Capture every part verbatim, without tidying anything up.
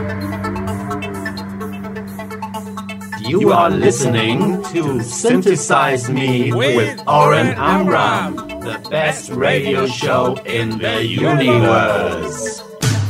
You are listening to Synthesize Me with Oren Amram, the best radio show in the universe.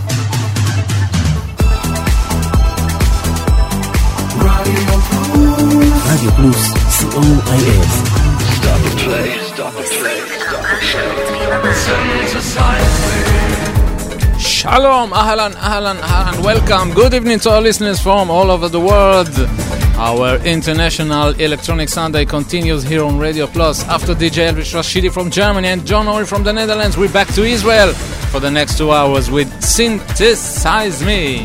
Radio Plus, C O I S. Stop the play, stop the play, stop the play. Synthesize Me. Shalom, ahlan, ahlan, ahlan. Welcome. Good evening to our listeners from all over the world. Our International Electronic Sunday continues here on Radio Plus. After D J Elvis Rashidi from Germany and John Ori from the Netherlands, we're back to Israel for the next two hours with Synthesize Me.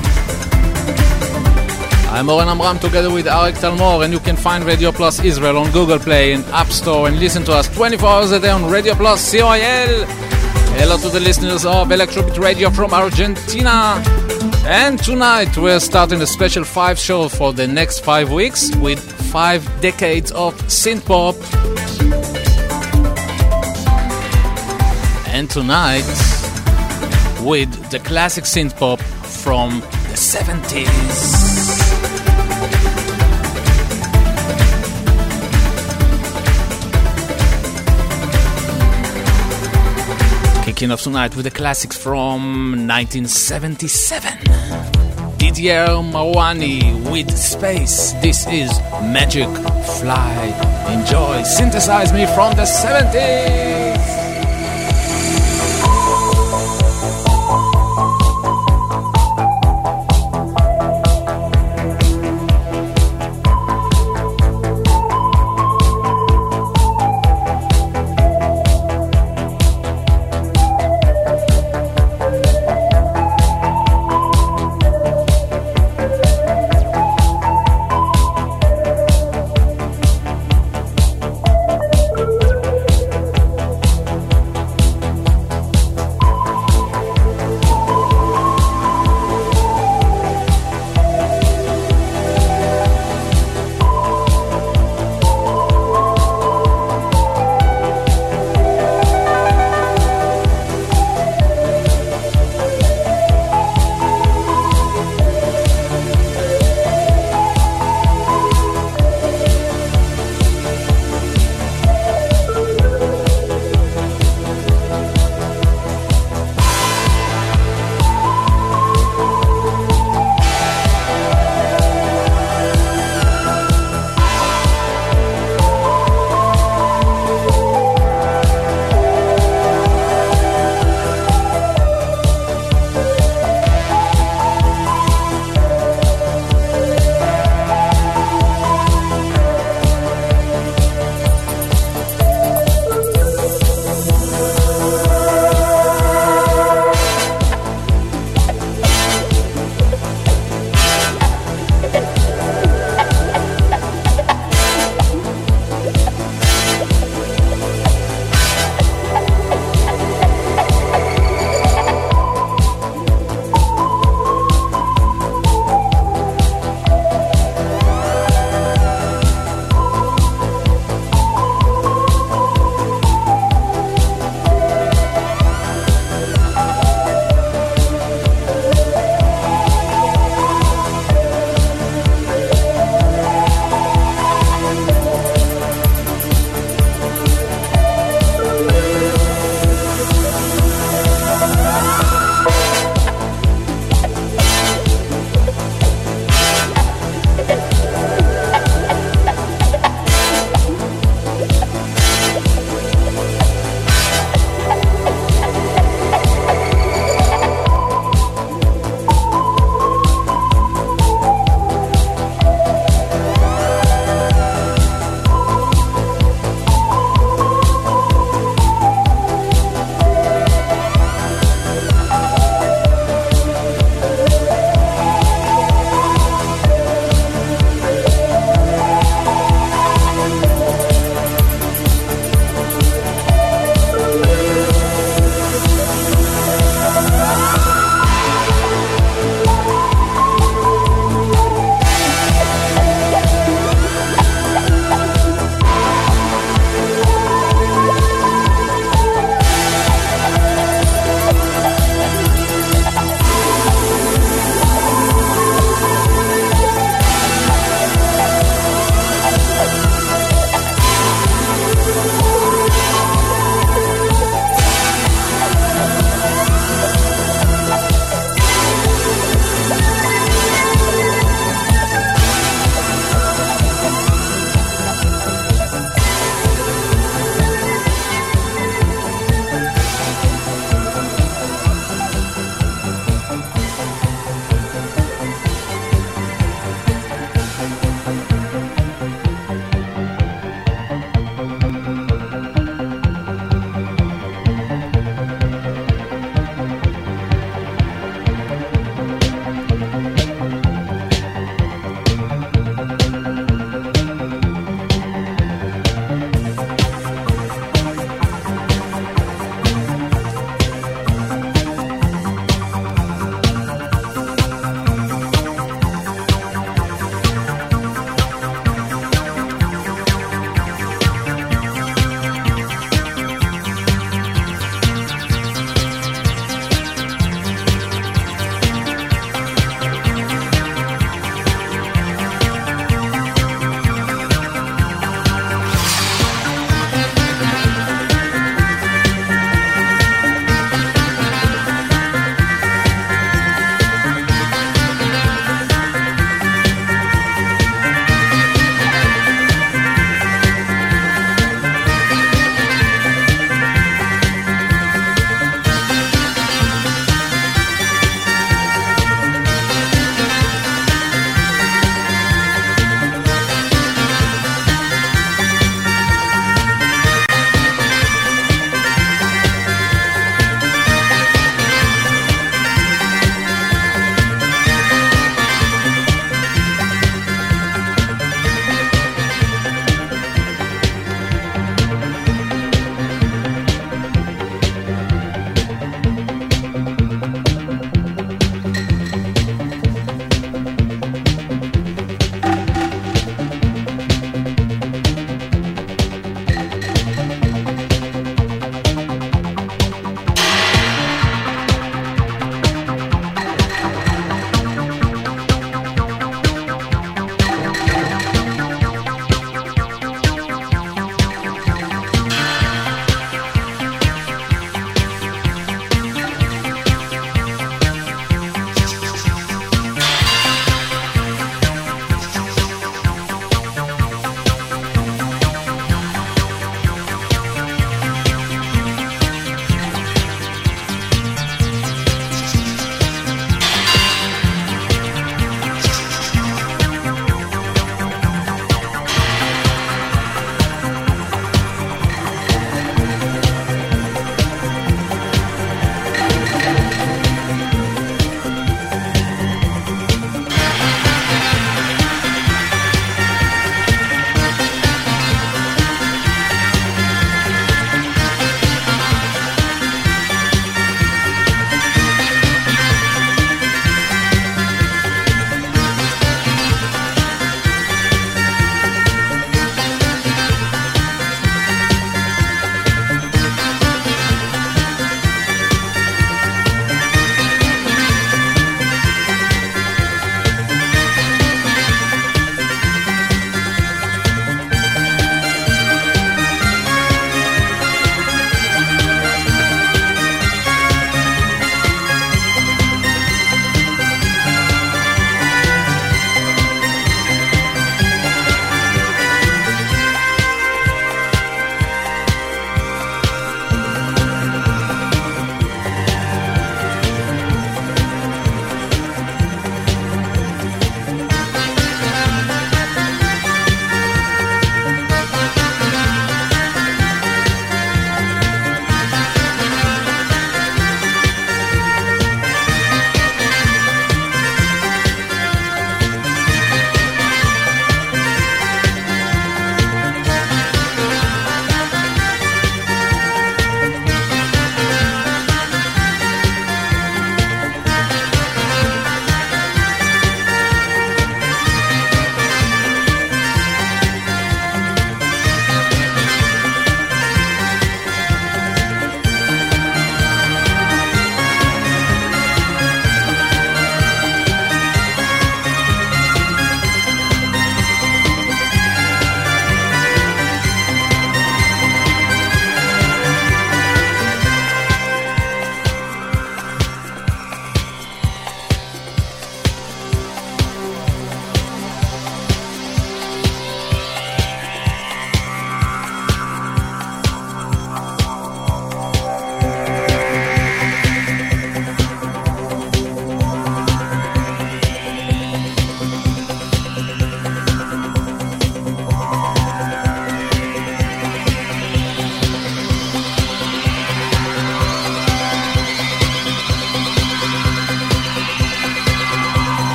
I'm Oren Amram together with Arik Talmor, and you can find Radio Plus Israel on Google Play and App Store and listen to us twenty-four hours a day on Radio Plus C O I L. Hello to the listeners of Electrobit Radio from Argentina. And tonight we're starting a special five show for the next five weeks with five decades of synthpop. And tonight with the classic synthpop from the seventies. Kicking off tonight with the classics from nineteen seventy-seven. Didier Marwani with Space. This is Magic Fly. Enjoy. Synthesize Me from the seventies.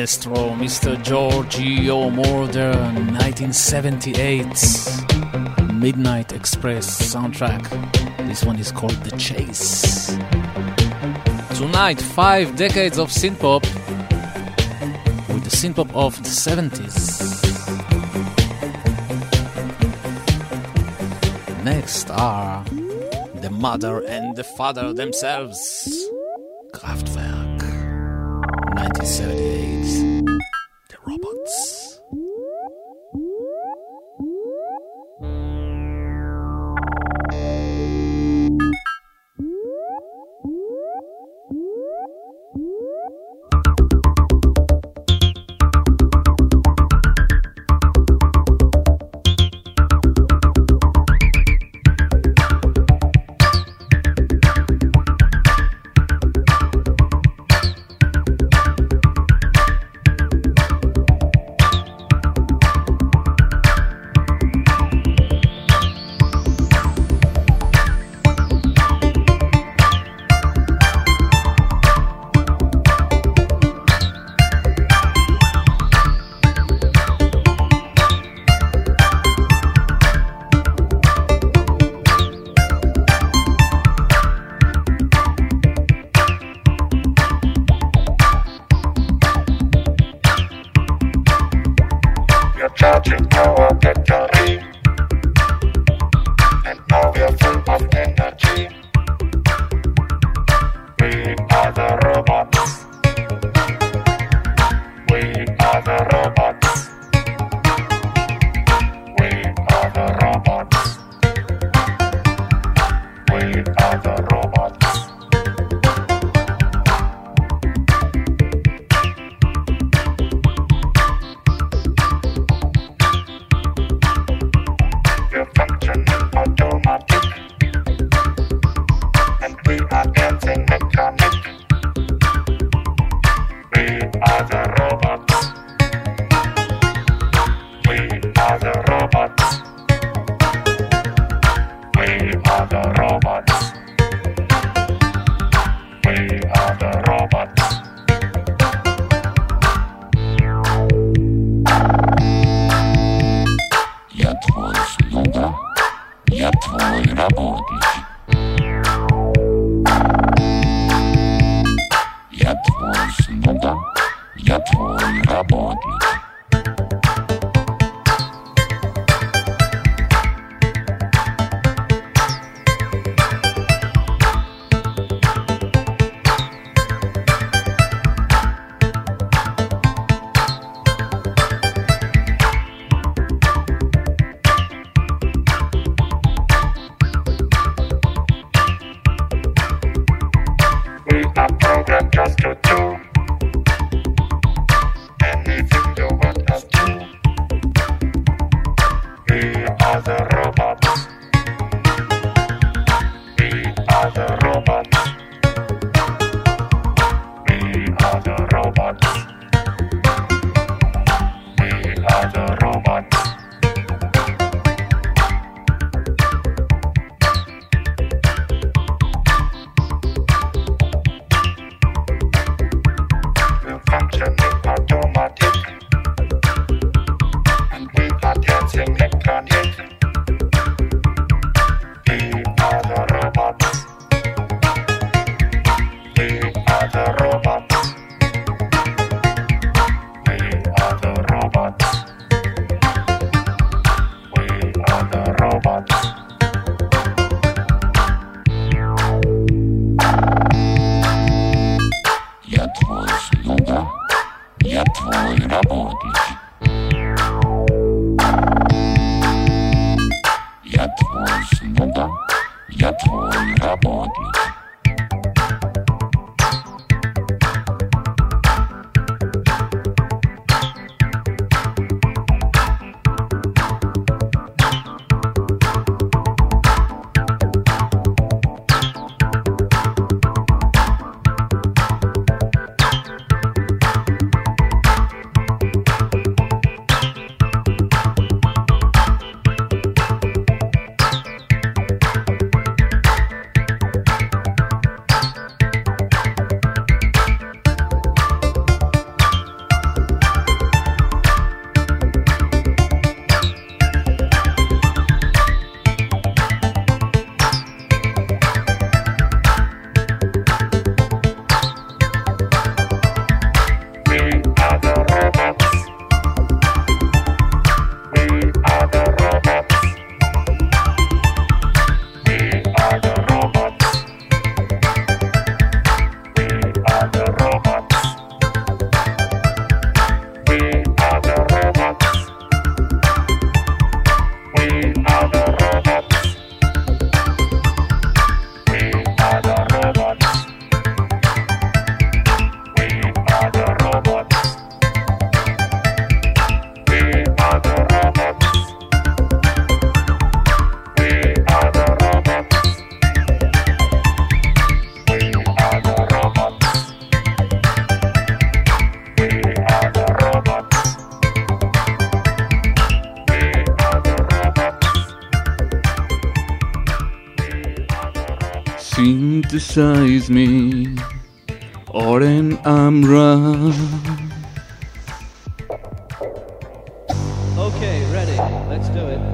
maestro, Mister Giorgio Moroder, nineteen seventy-eight Midnight Express soundtrack. This one is called The Chase. Tonight, five decades of synthpop with the synthpop of the seventies. Next are the mother and the father themselves, Kraftwerk, nineteen seventy-eight, The Robots. synthesize me, Oren Amram. Okay, ready. Let's do it.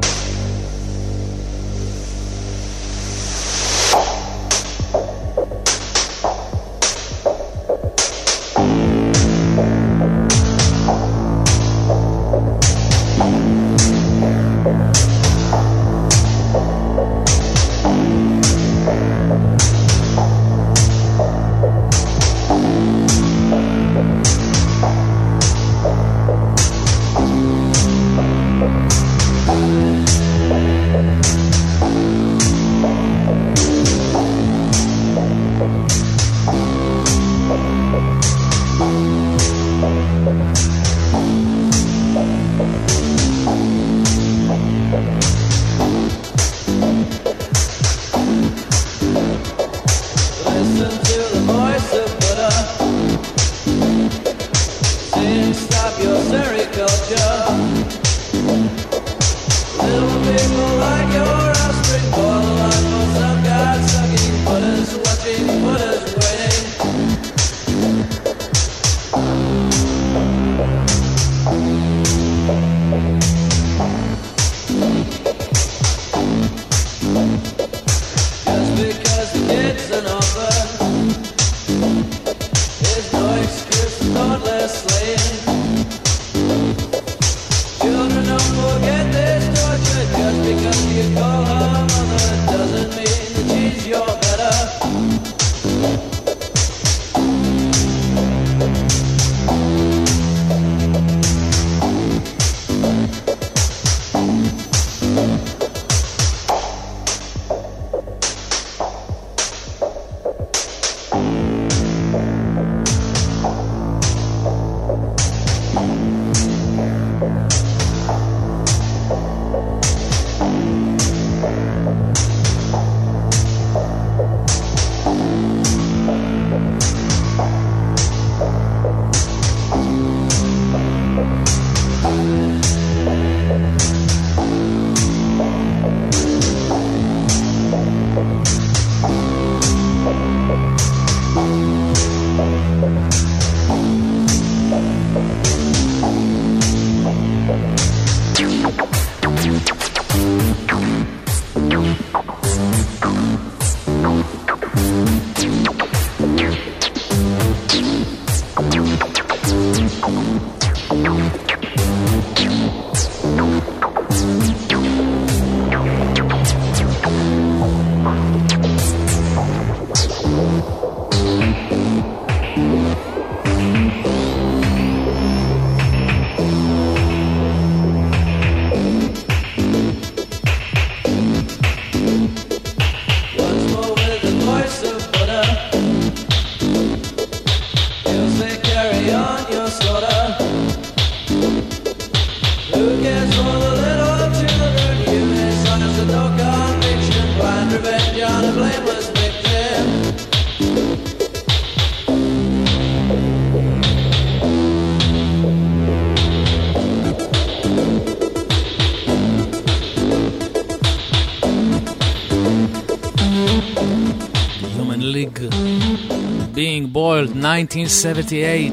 Being Boiled, nineteen seventy-eight.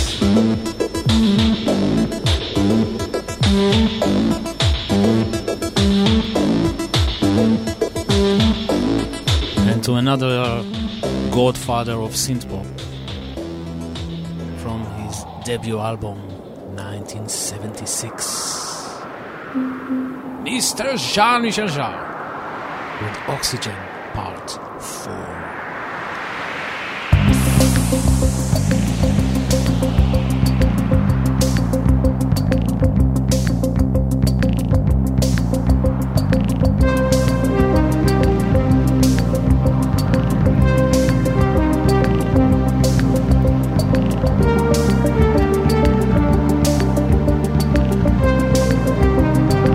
And to another godfather of synthpop from his debut album, nineteen seventy-six. Mister Jean-Michel Jarre with Oxygen Part four.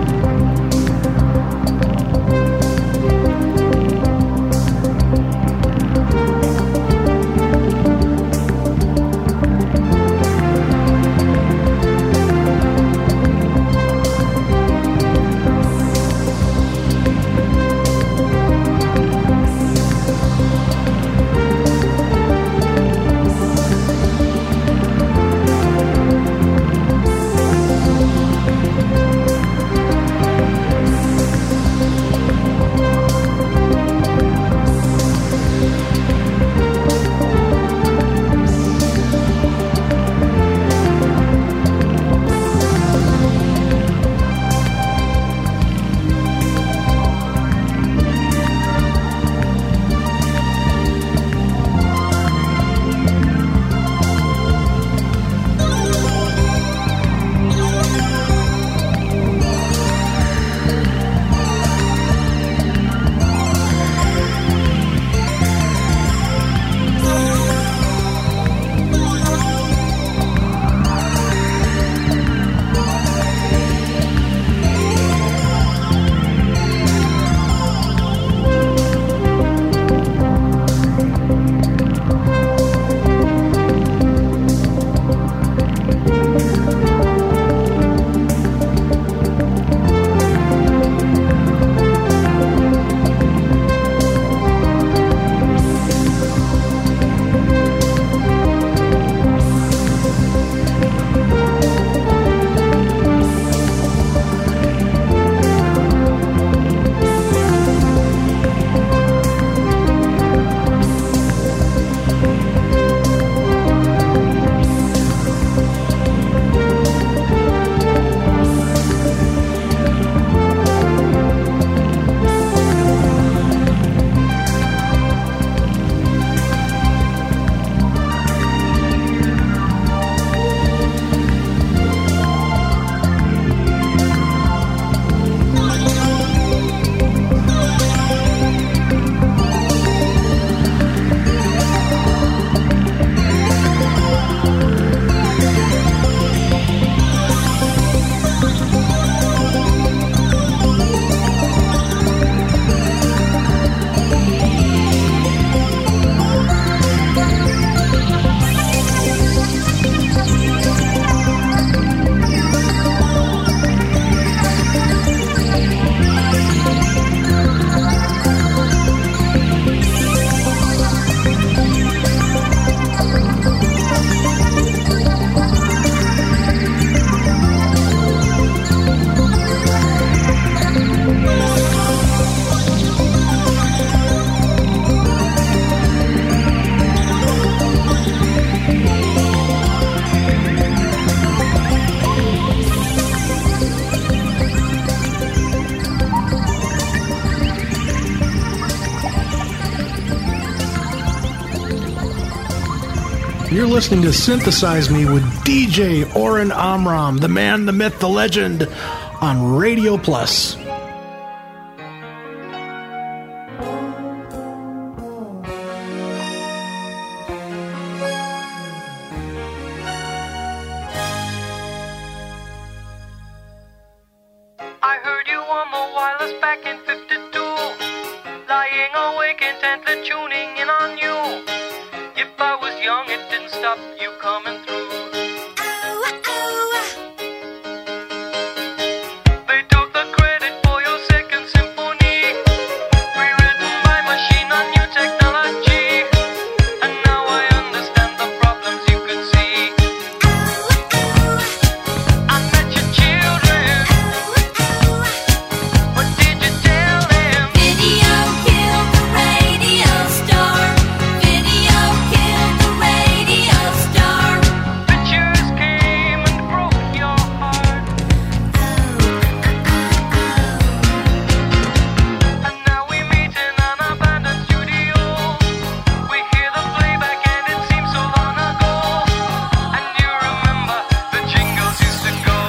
We'll be right back. You're listening to Synthesize Me with D J Oren Amram, the man, the myth, the legend, on Radio Plus. I heard you on the wireless back in fifty-two, lying awake intently tuning in on you. If I was young, it didn't stop you coming through. They took the credit for your second symphony, rewritten by machine on new technology. And now I understand the problems you could see. I met your children. What did you tell them? Video killed the radio star. Video killed the radio star. Pictures came and broke your heart. And now we meet in an abandoned studio. We hear the playback and it seems so long ago. And you remember the jingles used to go.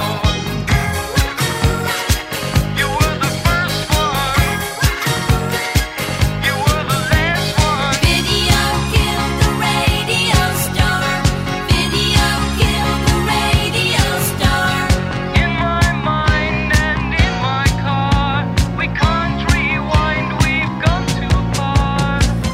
You were the first one. You were the last one. Video killed the radio star. Video killed the radio star. In my mind and in my car, we can't rewind, we've gone too far.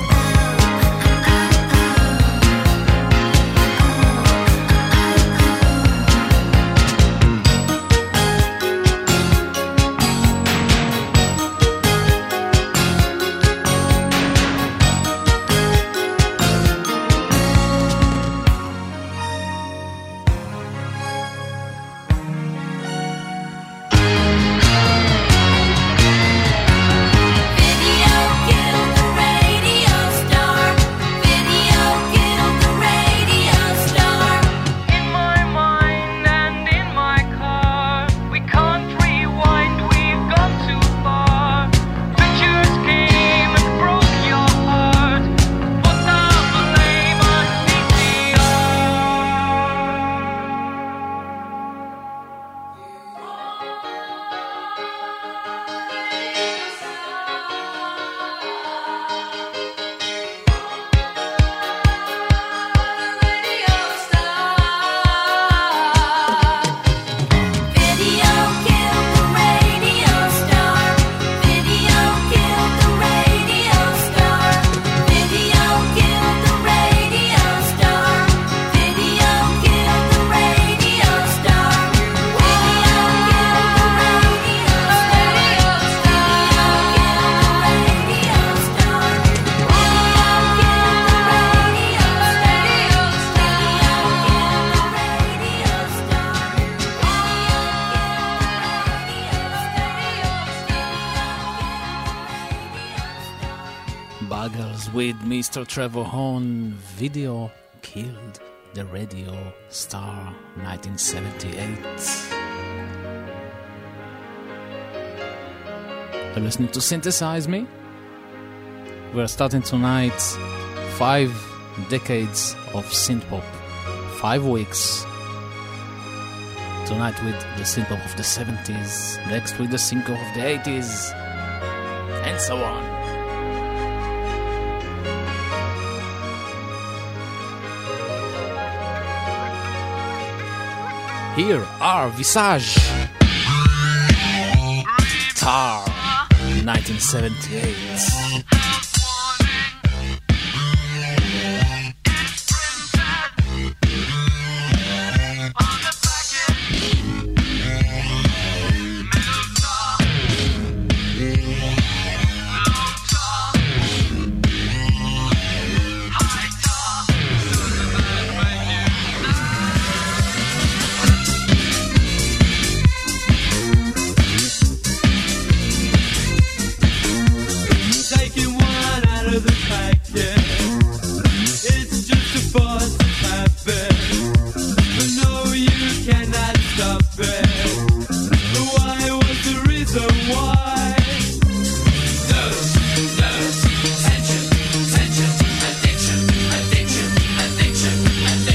Video killed the radio star. Video killed the radio star. In my mind and in my car, we can't rewind, we've gone too far. Pictures came and broke your heart. Put the blame on V C R. Video killed the radio star. Video killed the radio star. Video killed the radio star. Video killed the radio star. Video killed the radio star. Buggles with Mister Trevor Horn. Video killed the radio star. nineteen seventy-eight. You're listening to Synthesize Me. We're starting tonight five decades of synthpop, five weeks. Tonight with the synthpop of the seventies, next with the synthpop of the eighties, and so on. Here are Visage, Tar, nineteen seventy-eight. Taking one out of the pack, yeah. It's just a force of habit, but no, you cannot stop it. The why was the reason why. Dose, dose, tension, tension, addiction, addiction, addiction, addiction.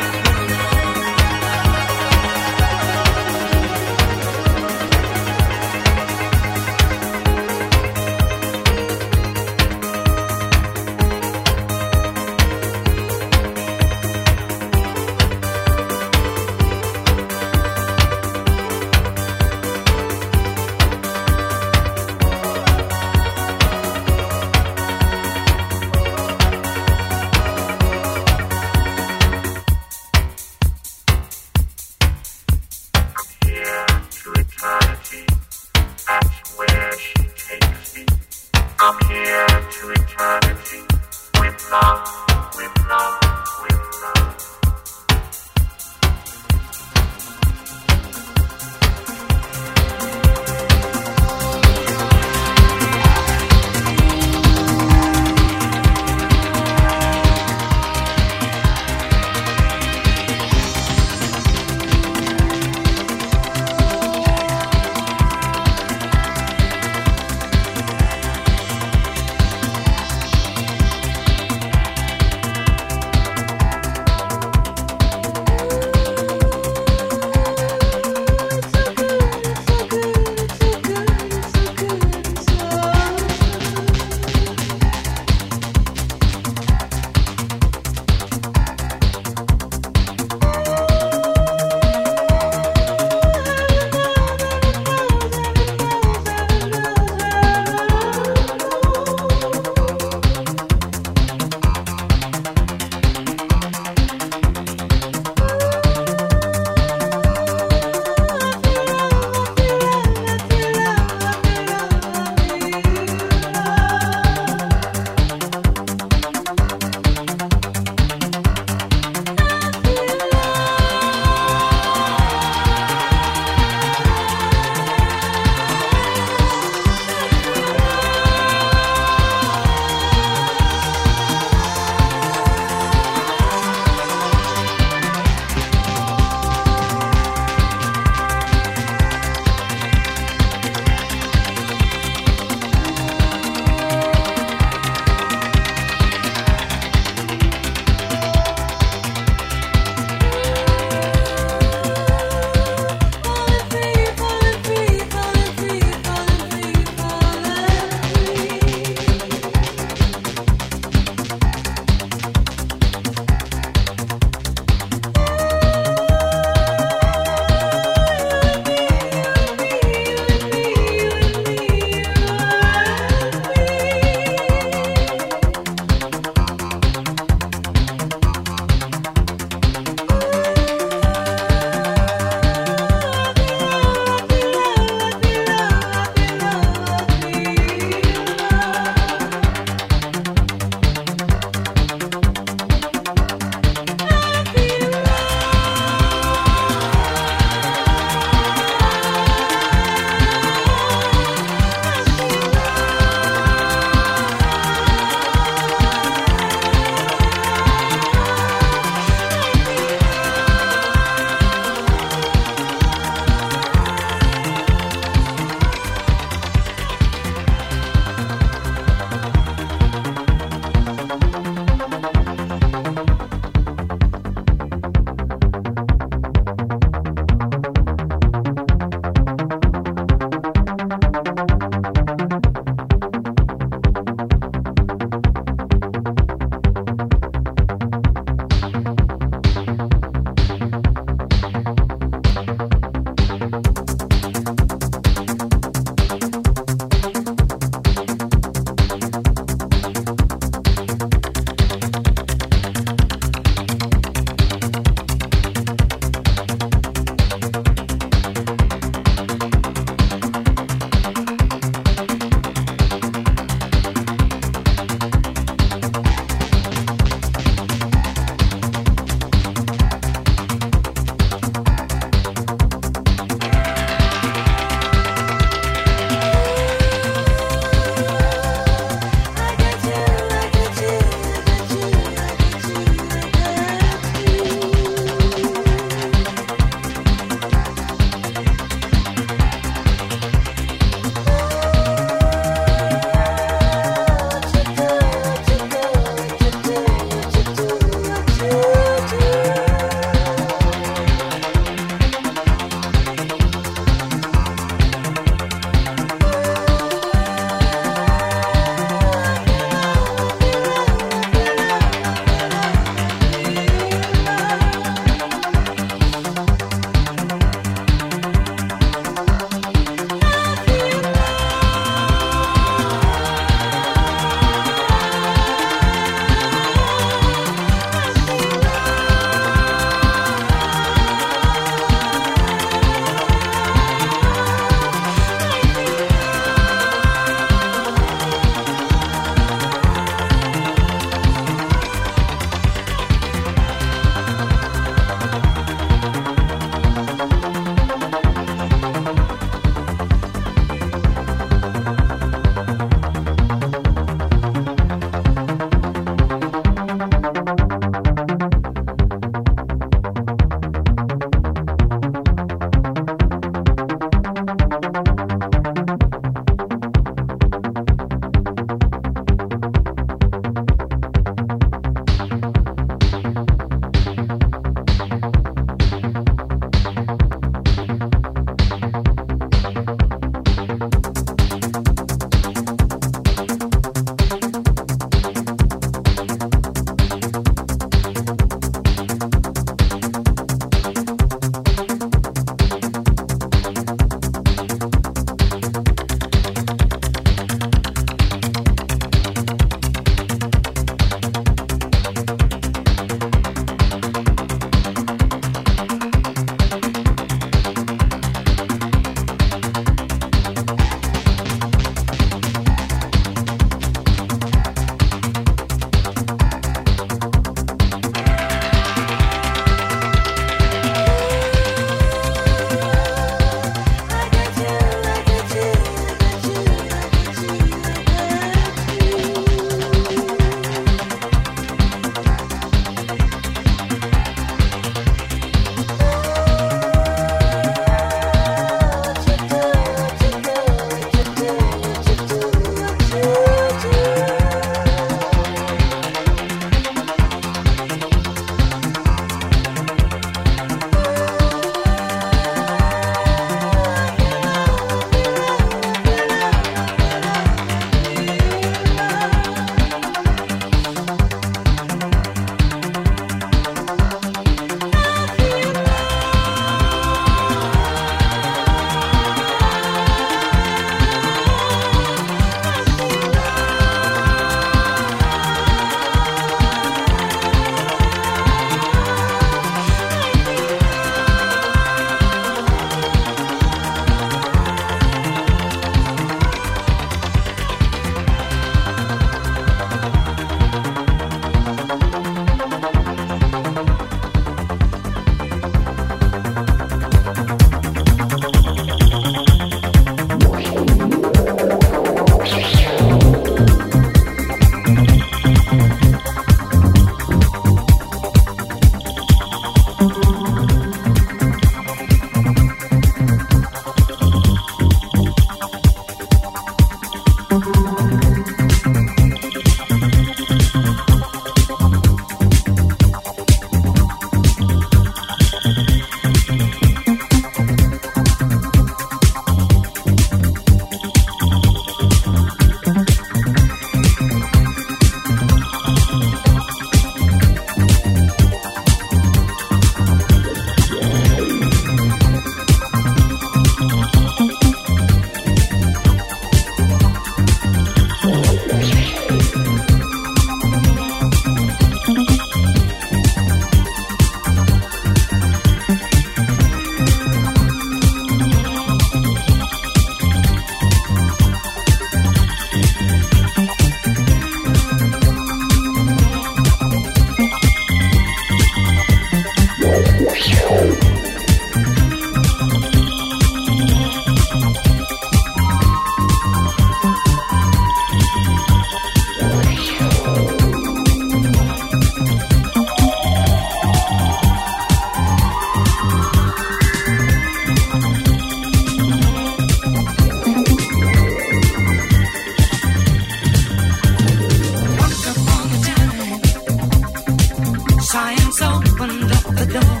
opened up the door.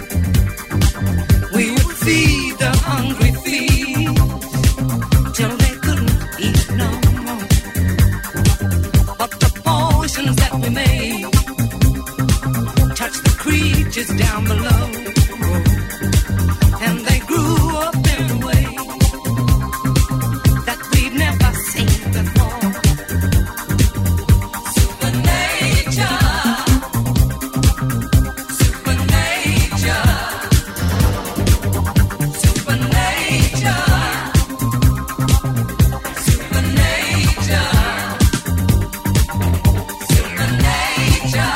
We would feed the hungry feet till they couldn't eat no more. But the portions that we made touched the creatures down below, and they grew up in a way that we'd never seen before. Supernature, supernature, supernature, supernature, supernature.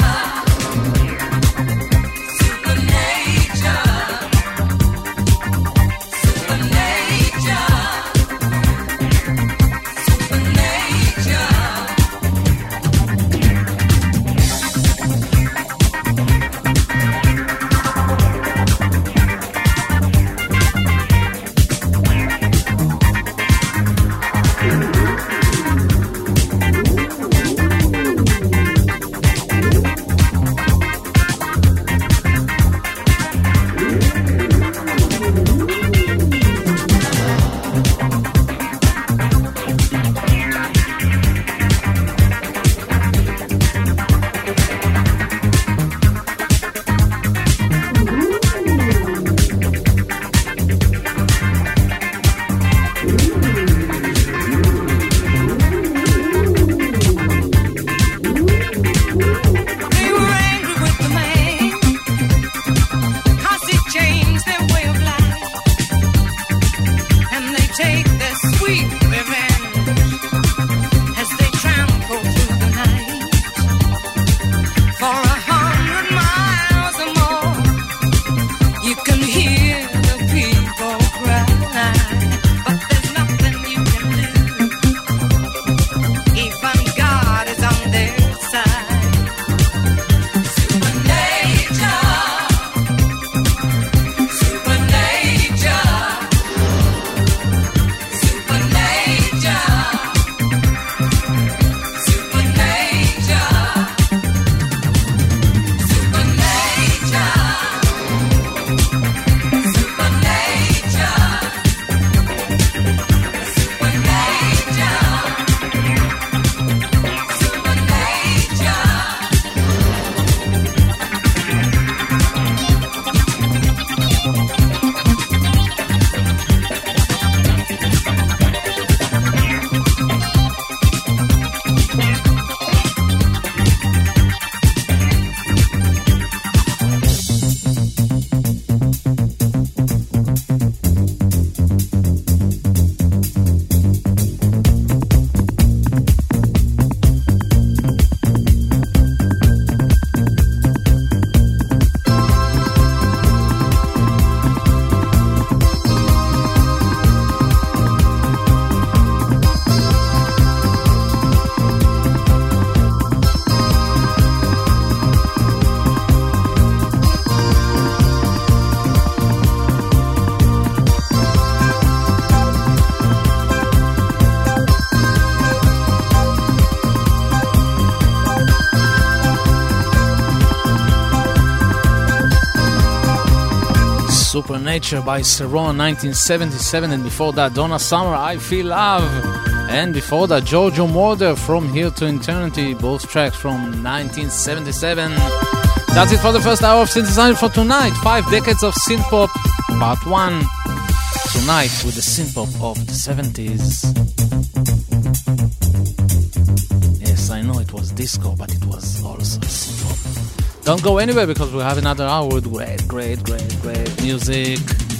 Supernature by Cerrone, nineteen seventy-seven, and before that Donna Summer, I Feel Love, and before that Giorgio Moroder, From Here to Eternity, both tracks from nineteen seventy-seven. That's it for the first hour of Synthesizer for tonight. Five decades of synthpop, part one. Tonight with the synthpop of the seventies. Yes, I know it was disco, but it was also synthpop. Don't go anywhere because we'll have another hour with great, great, great, great music.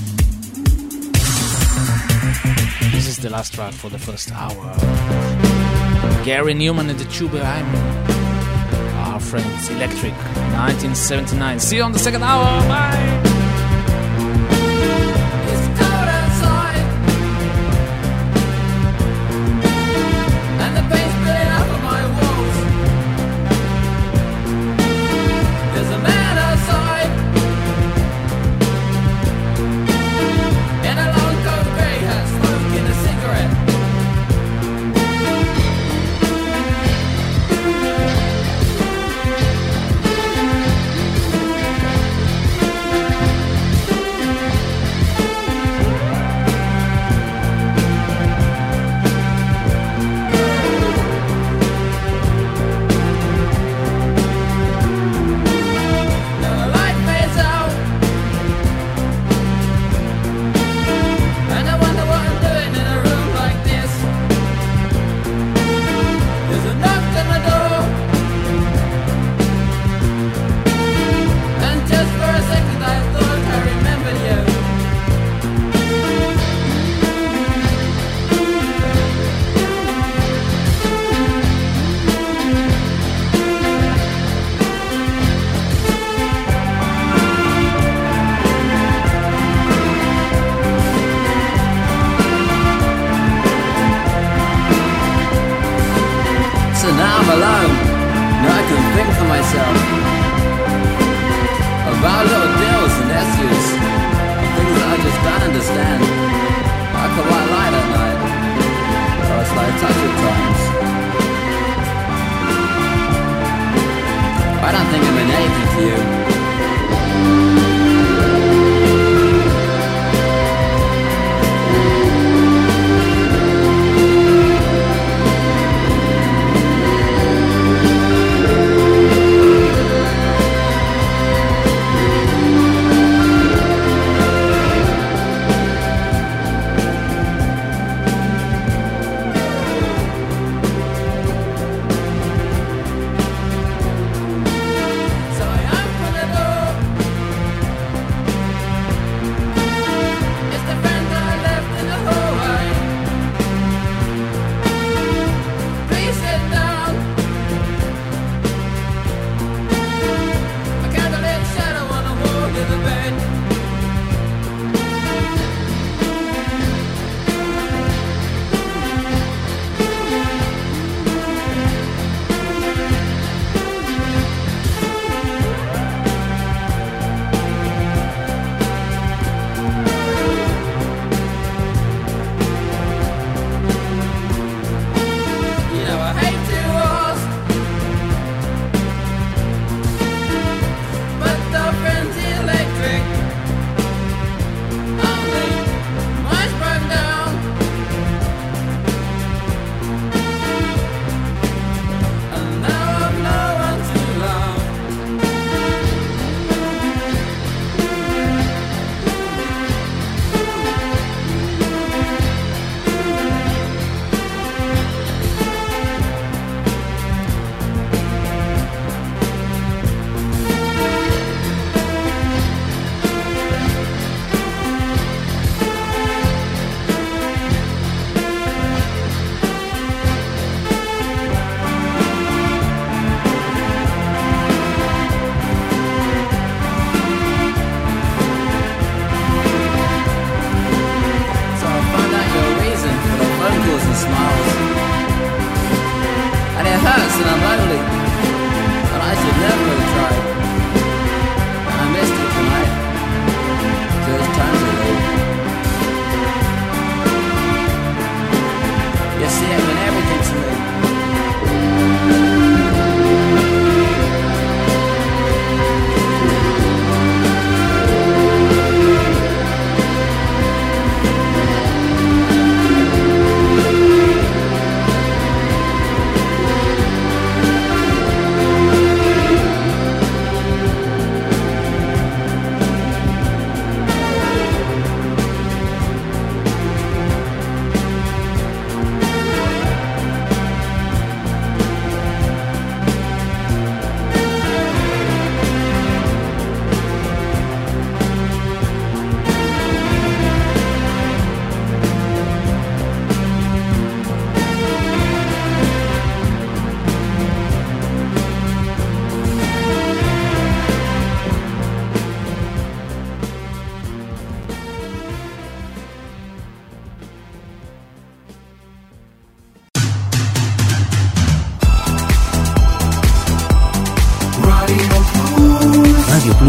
This is the last track for the first hour. Gary Newman and the Tube behind me. Our friends Electric, nineteen seventy-nine. See you on the second hour. Bye. Thank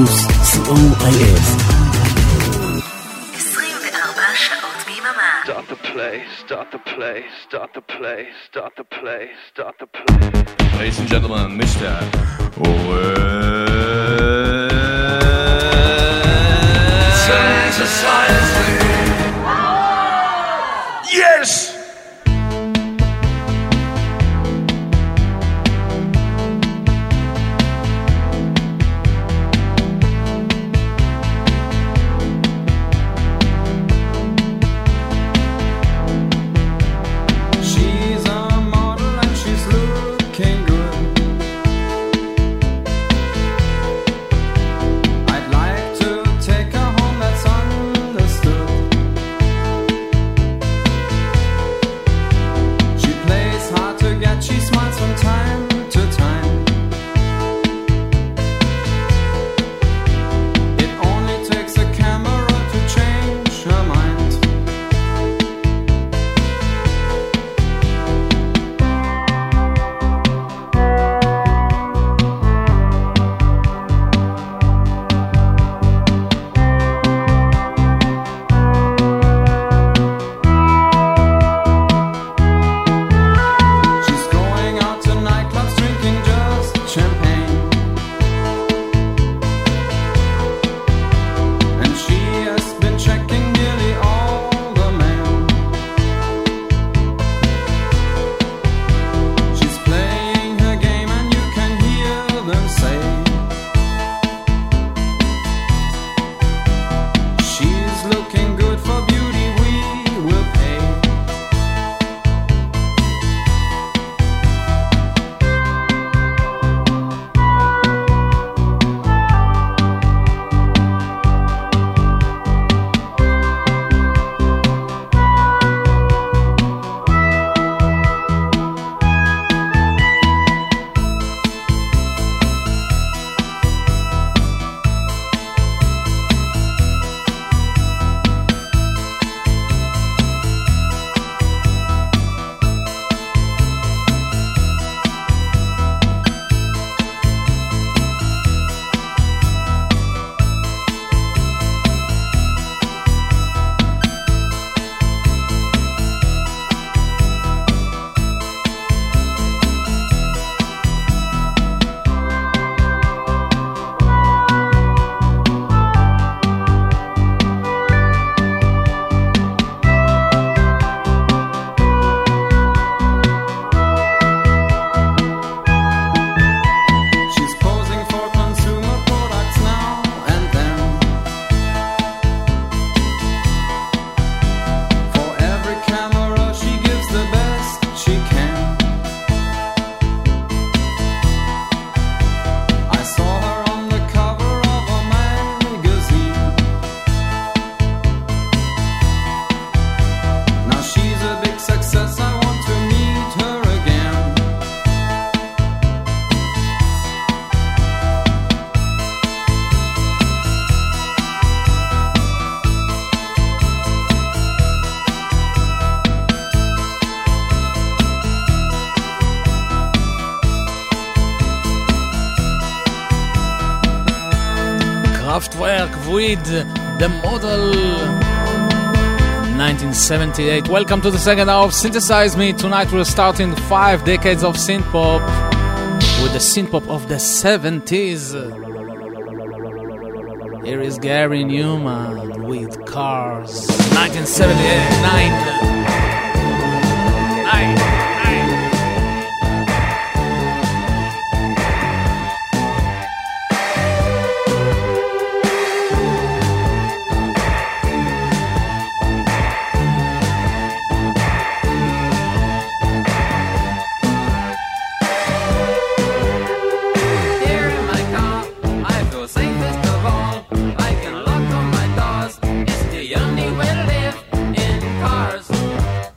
פלוס, סי או איי אס. עשרים וארבע שעות ביממה. Start the play, start the play, start the play, start the play, start the play. Ladies and gentlemen, Mister Synthesize me. Yes! Kraftwerk with the model nineteen seventy-eight. Welcome to the second hour of Synthesize Me. Tonight we're starting five decades of synth-pop with the synth-pop of the seventies. Here is Gary Newman with Cars. nineteen seventy-eight. Nine. Nine. Safest of all, I can lock on my doors. It's the only way to live in cars.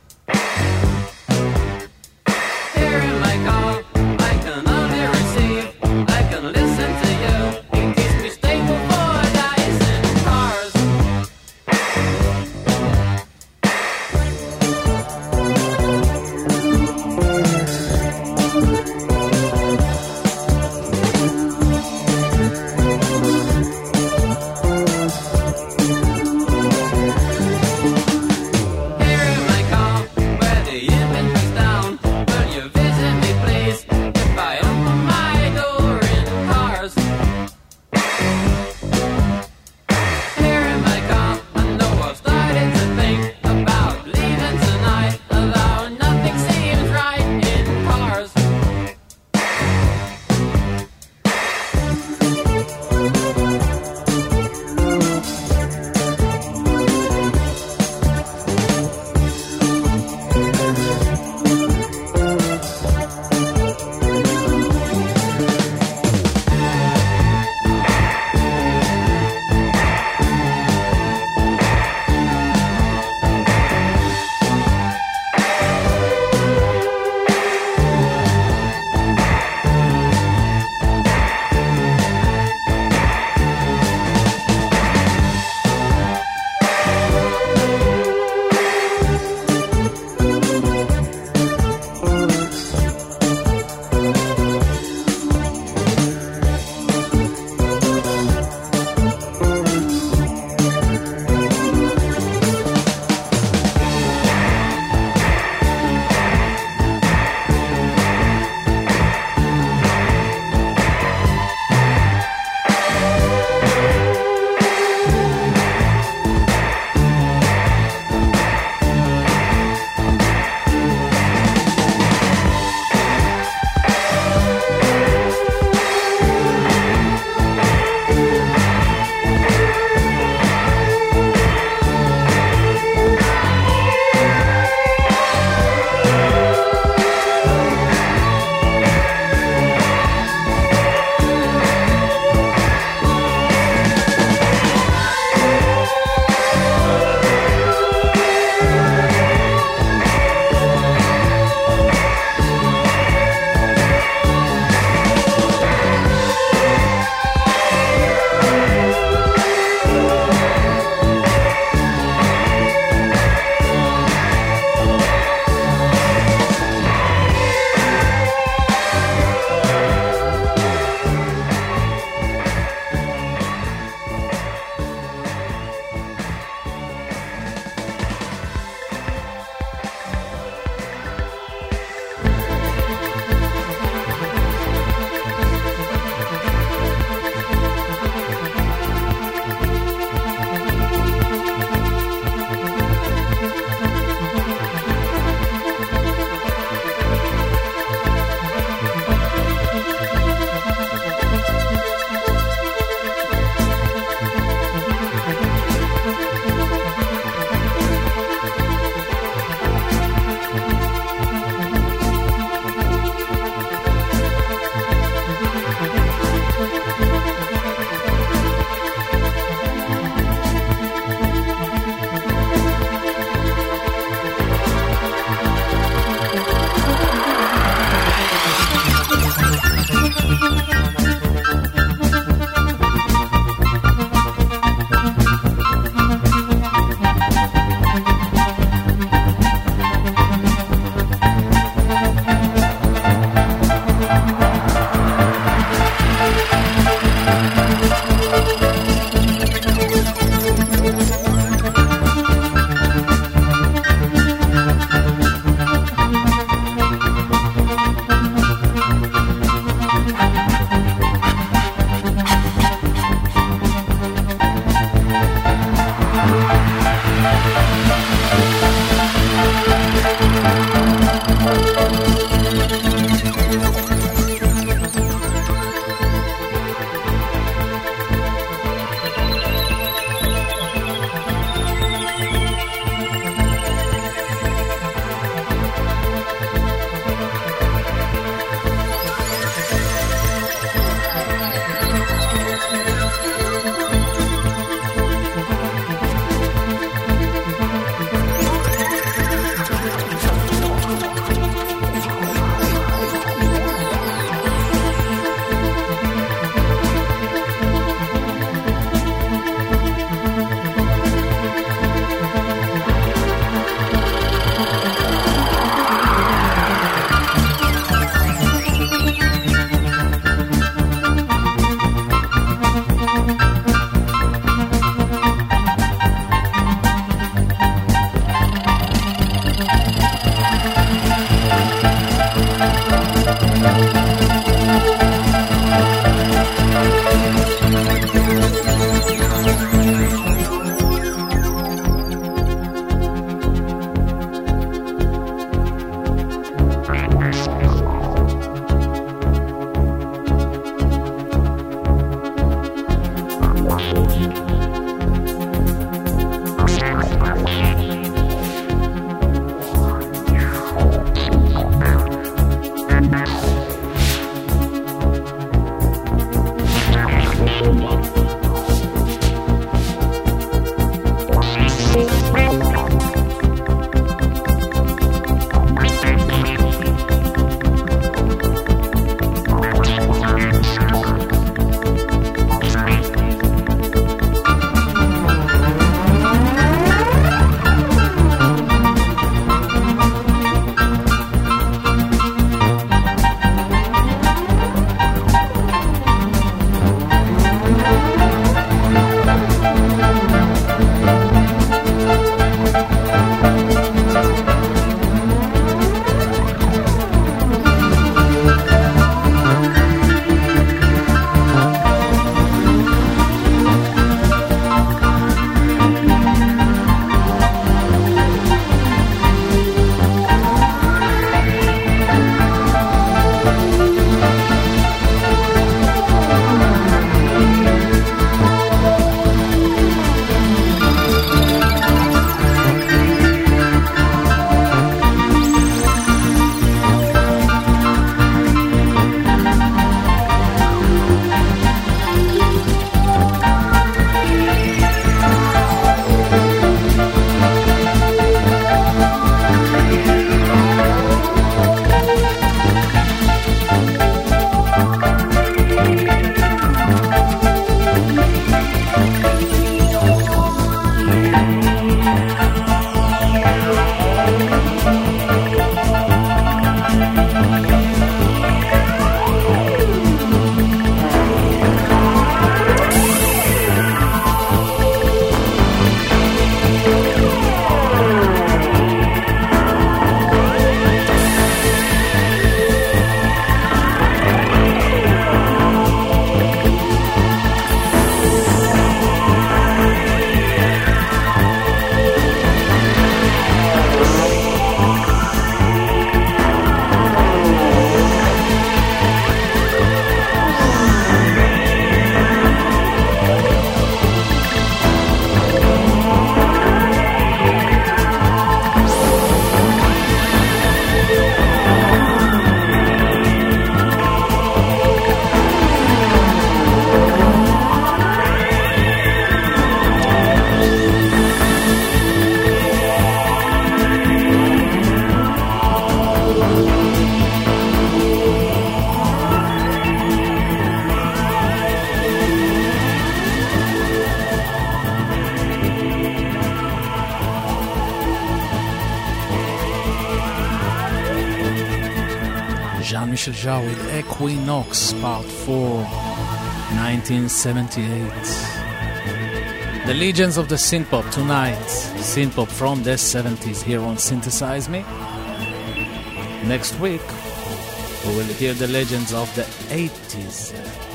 Jean-Michel Jarre with Equinox Part four, nineteen seventy-eight. The legends of the synthpop tonight. Synthpop from the seventies here on Synthesize Me. Next week, we will hear the legends of the eighties.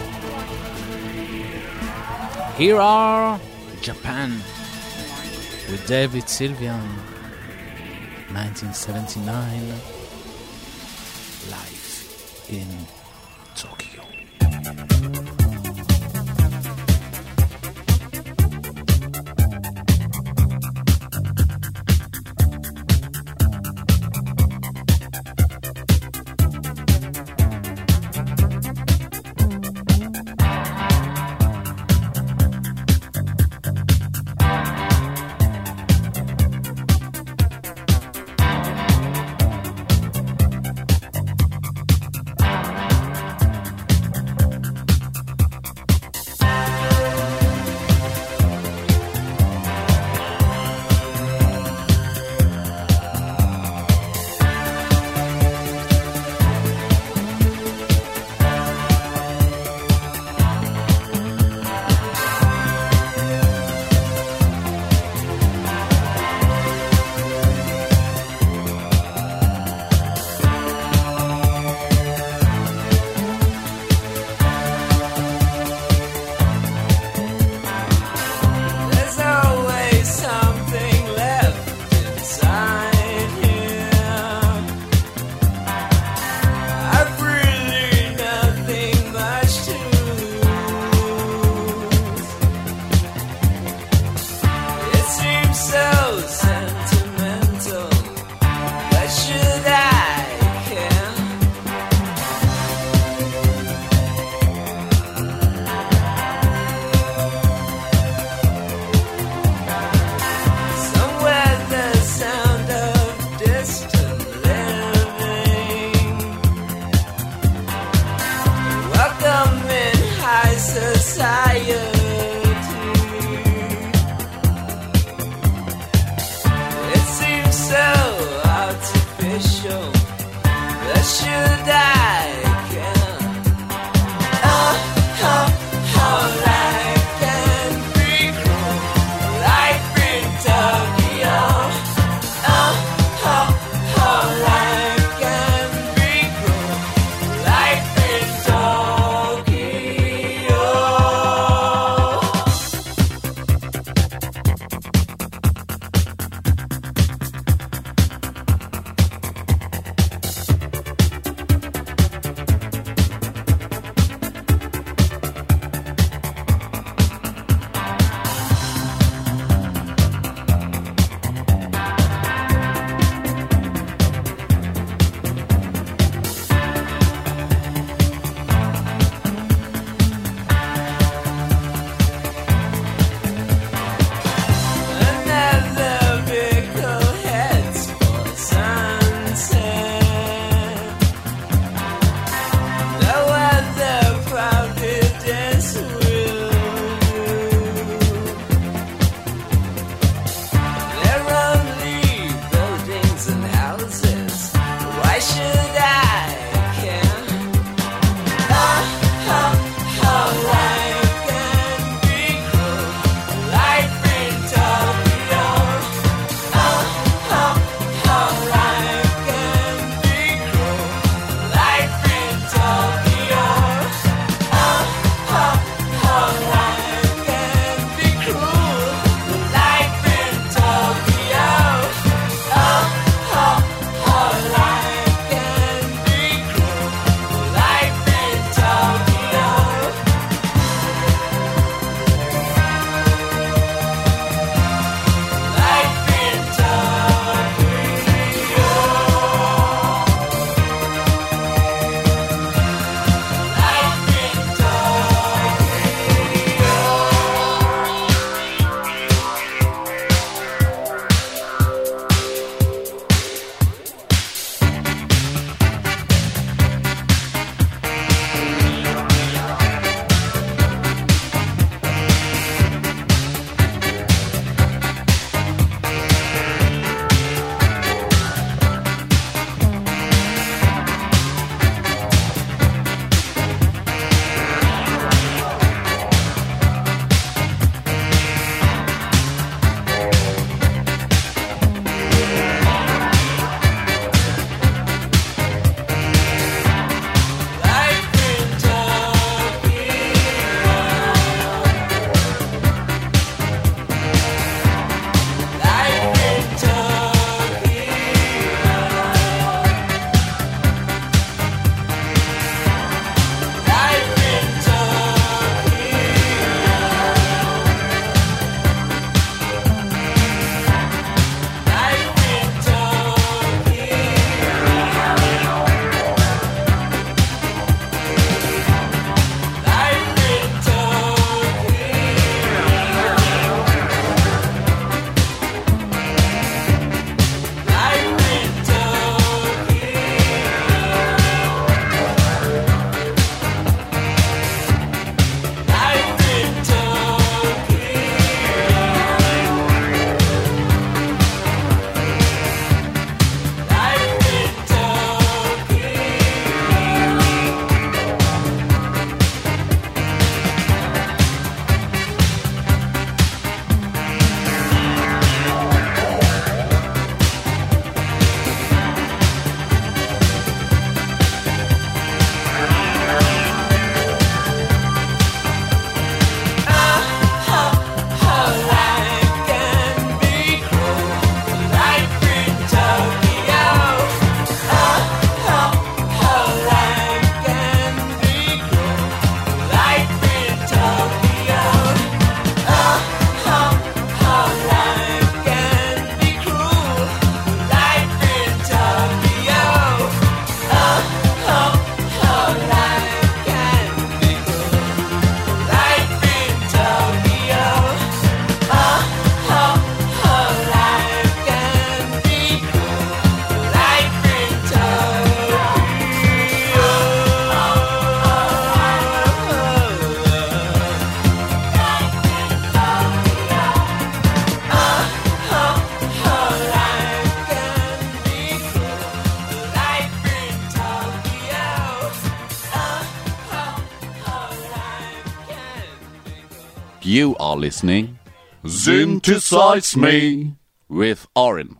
Here are Japan with David Sylvian, nineteen seventy-nine, live in Tokyo. You are listening Synthesize Me with Oren.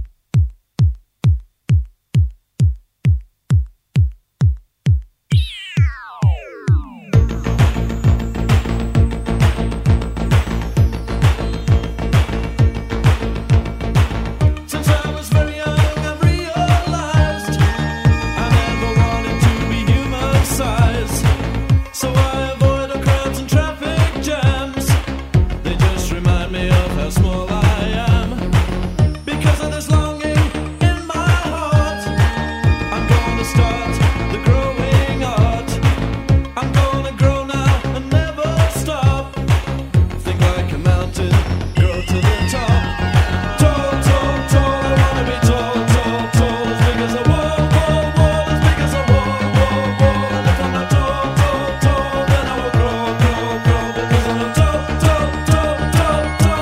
Small I am, because of this longing in my heart. I'm gonna start the growing art. I'm gonna grow now and never stop. Think like a mountain, grow to the top. Tall, tall, tall, I wanna be tall, tall, tall. As big as a wall, wall, wall, as big as a wall, wall, wall. And if I'm not tall, tall, tall, then I will grow, grow, grow. Because I'm not tall, tall, tall, tall, tall.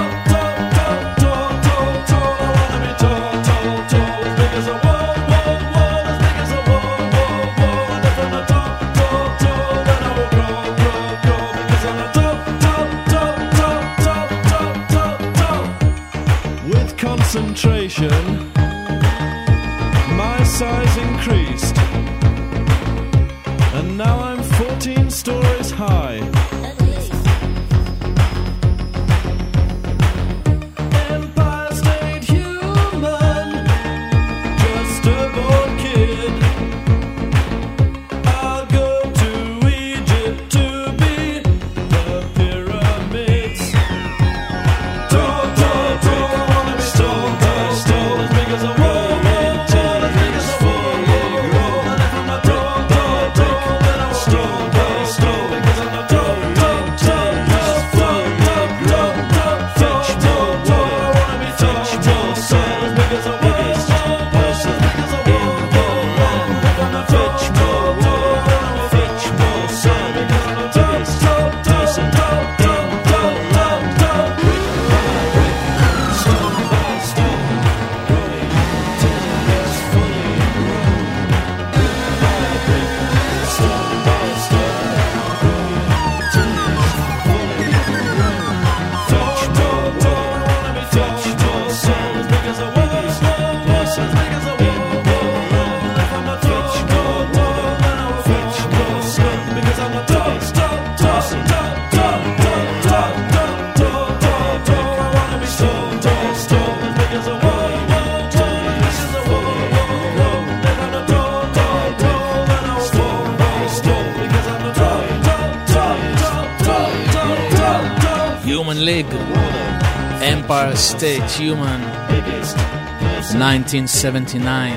Concentration, my size increased, and now I'm fourteen stories high. Empire State Human, just a bored kid. I'll go to Egypt to be the pyramids. Tall, tall, tall. League, Empire State Human, nineteen seventy-nine.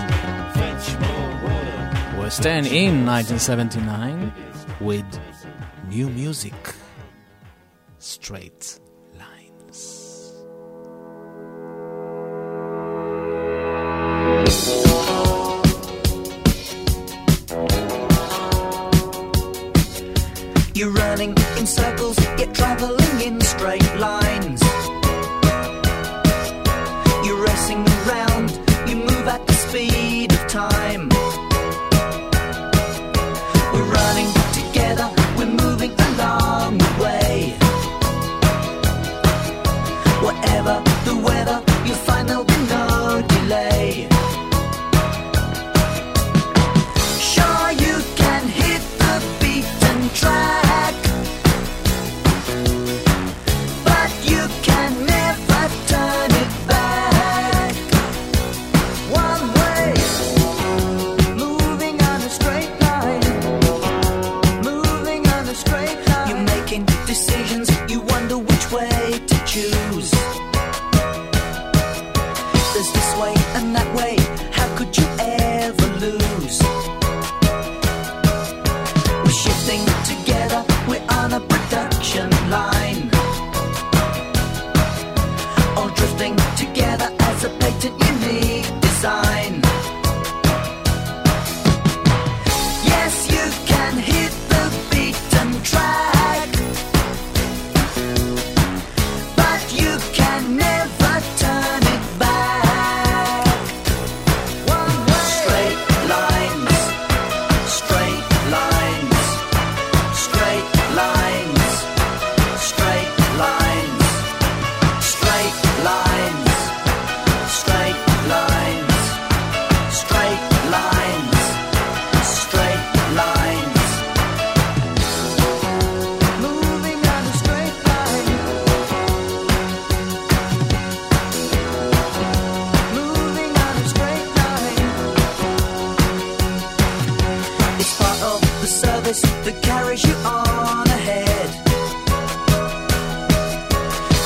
We're staying in nineteen seventy-nine with new music, Straight Lines. You're running in circles, yet traveling in straight lines. You're racing around, you move at the speed of time. We're running together, we're moving along the way. Whatever the weather, you'll find there'll be no delay. Sure, you can hit the beaten track, but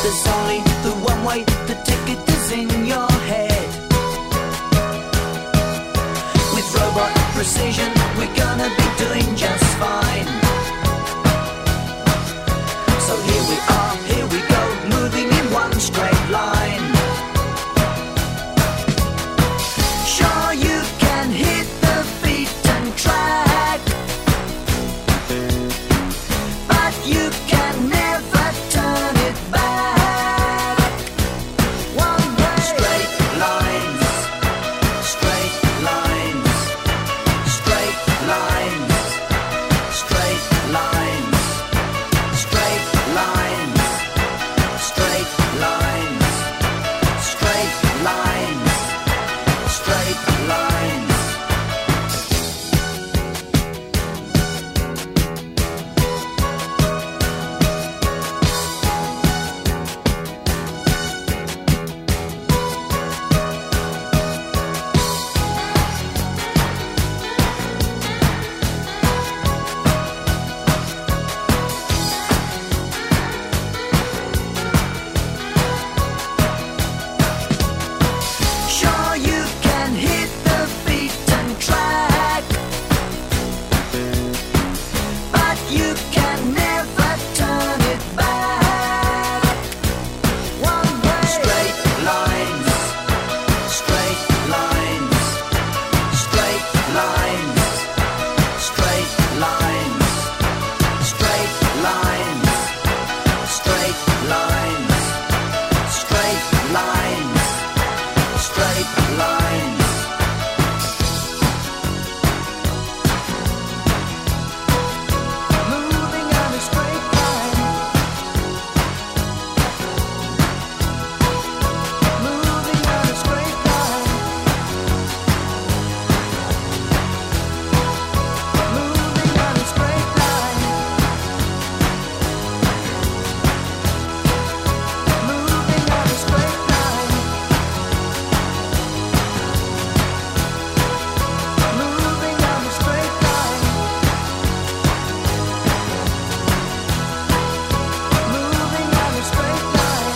There's only the one way, the ticket is in your head. With robot precision, we're gonna be doing just fine. So here we are, here we go, moving in one straight line. Sure you can hit the beat and track, but you can never turn it back. One way. Straight lines, straight lines, straight lines, straight lines, straight lines, straight lines, straight lines, straight lines. Sure you can hit the beat and track, but you can never turn it back. One way. Straight lines, straight lines, straight lines, straight lines, straight lines, straight lines, straight lines, straight lines. Moving on a straight line. Moving on a straight line. Moving on a straight line. Moving on a straight line. Moving on a straight line. Moving on a straight line.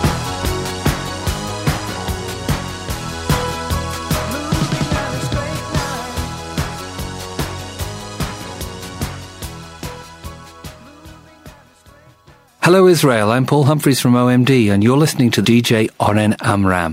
Moving on a straight line. Hello Israel, I'm Paul Humphreys from O M D and you're listening to D J Oren Amram.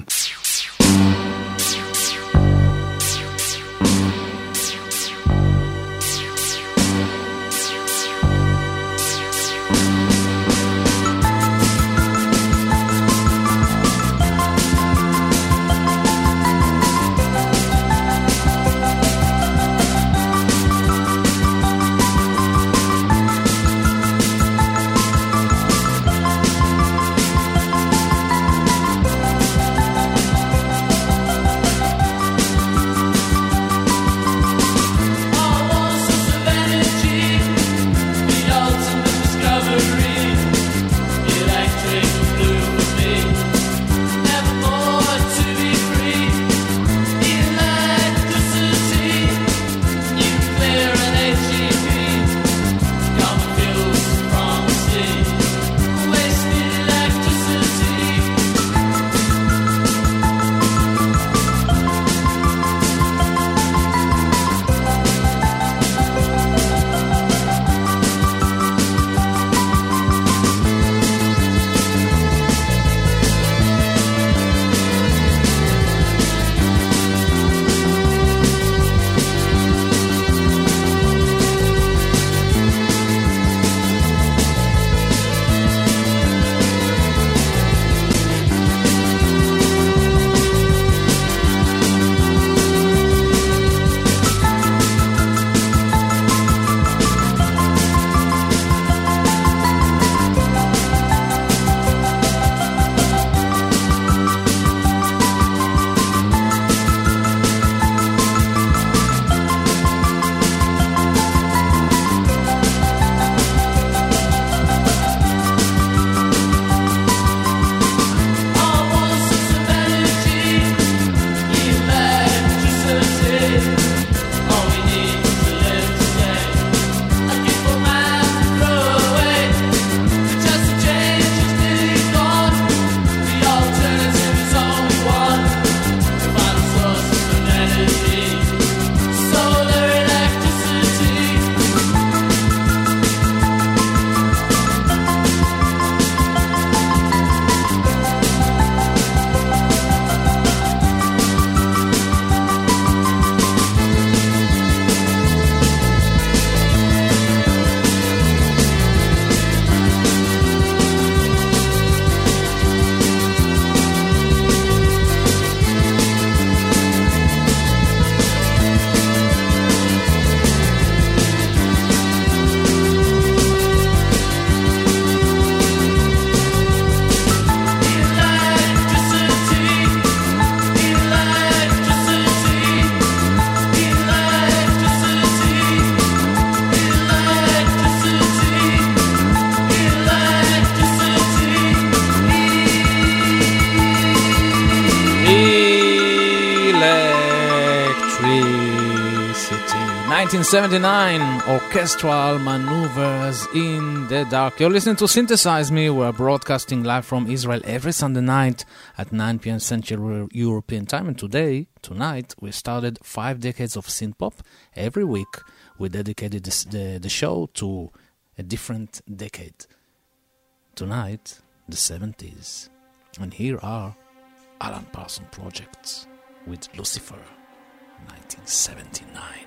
nineteen seventy-nine, Orchestral Maneuvers in the Dark. You're listening to Synthesize Me. We're broadcasting live from Israel every Sunday night at nine p.m. Central European Time. And today, tonight, we started five decades of synth-pop. Every week, we dedicated this, the, the show to a different decade. Tonight, the seventies. And here are Alan Parsons Projects with Lucifer, nineteen seventy-nine.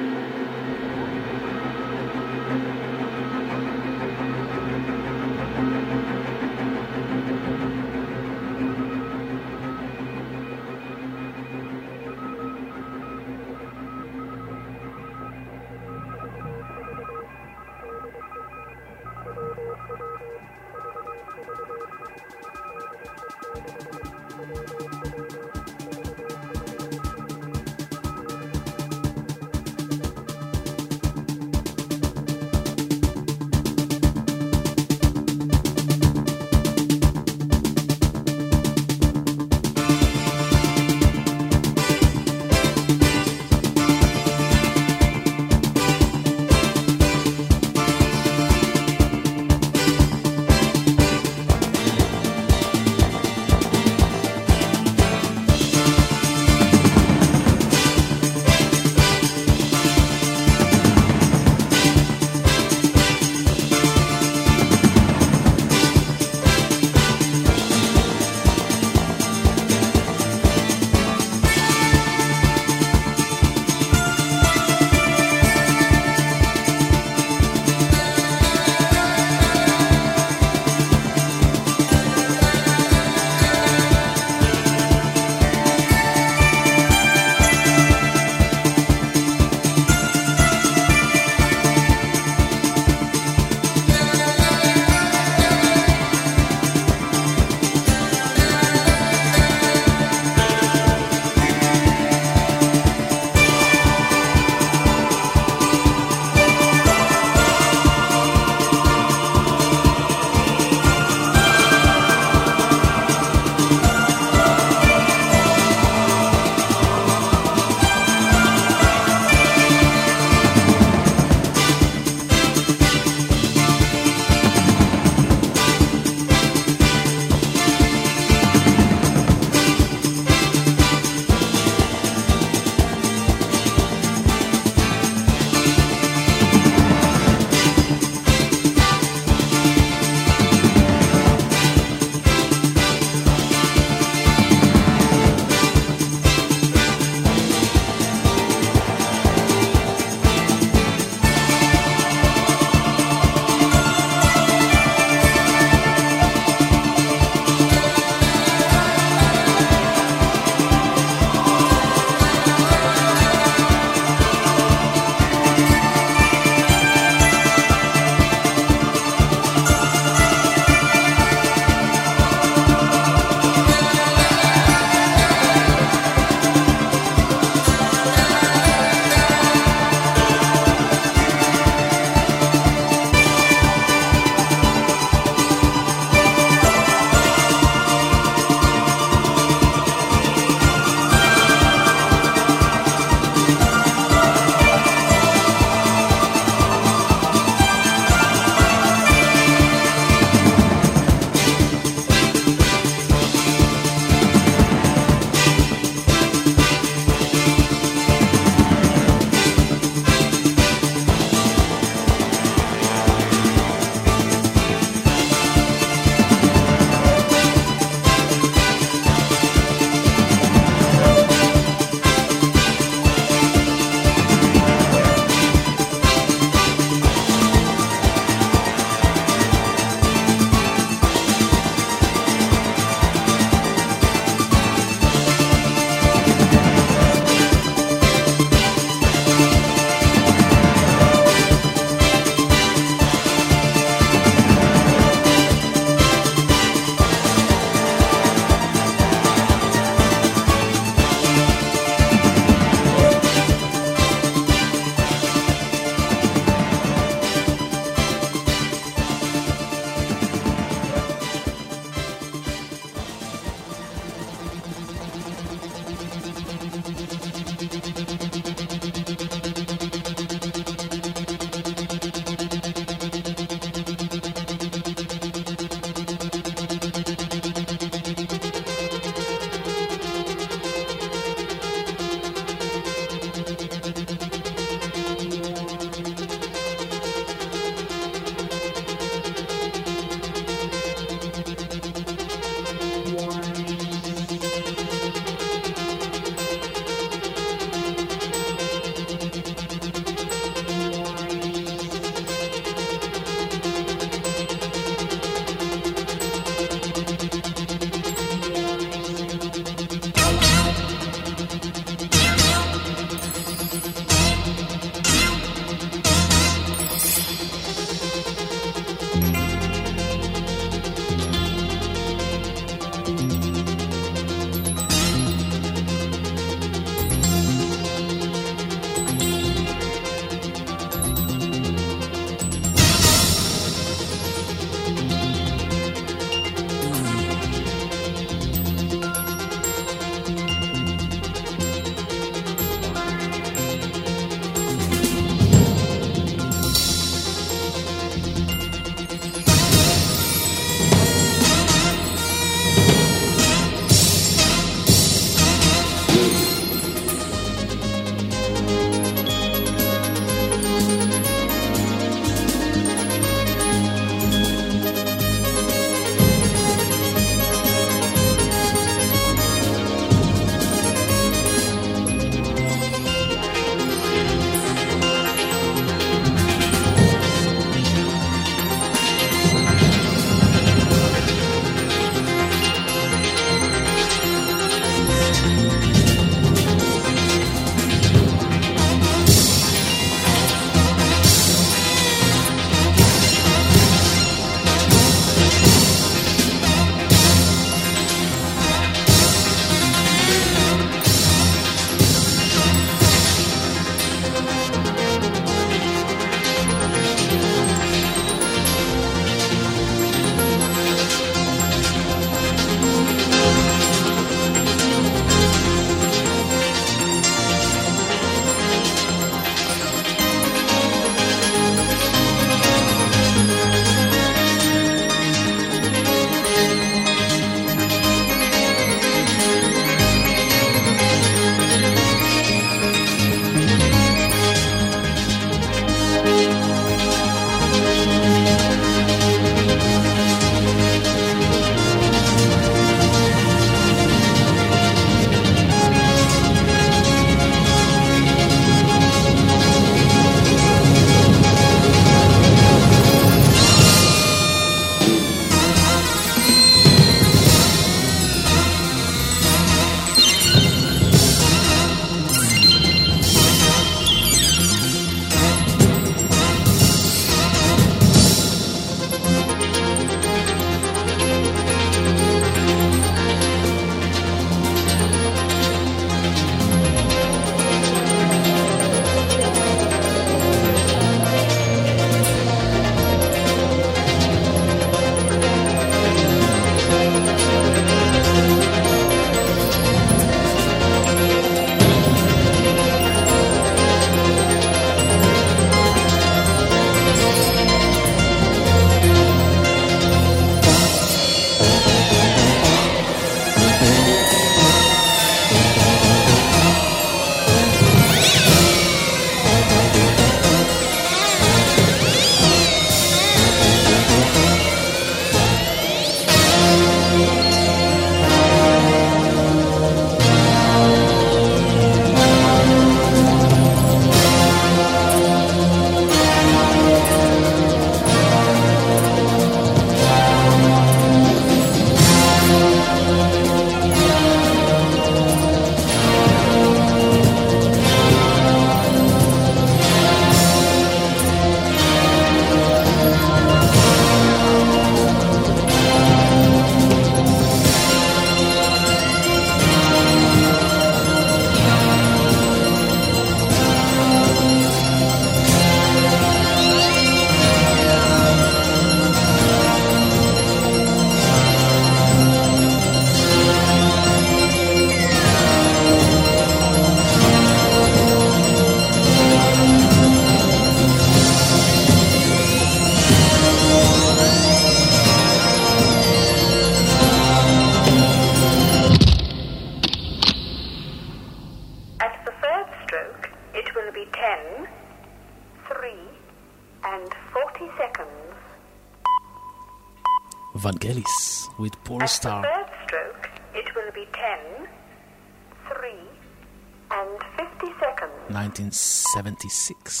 Vangelis with Poor Star. At the third stroke, it will be ten, three, and fifty seconds. nineteen seventy-six.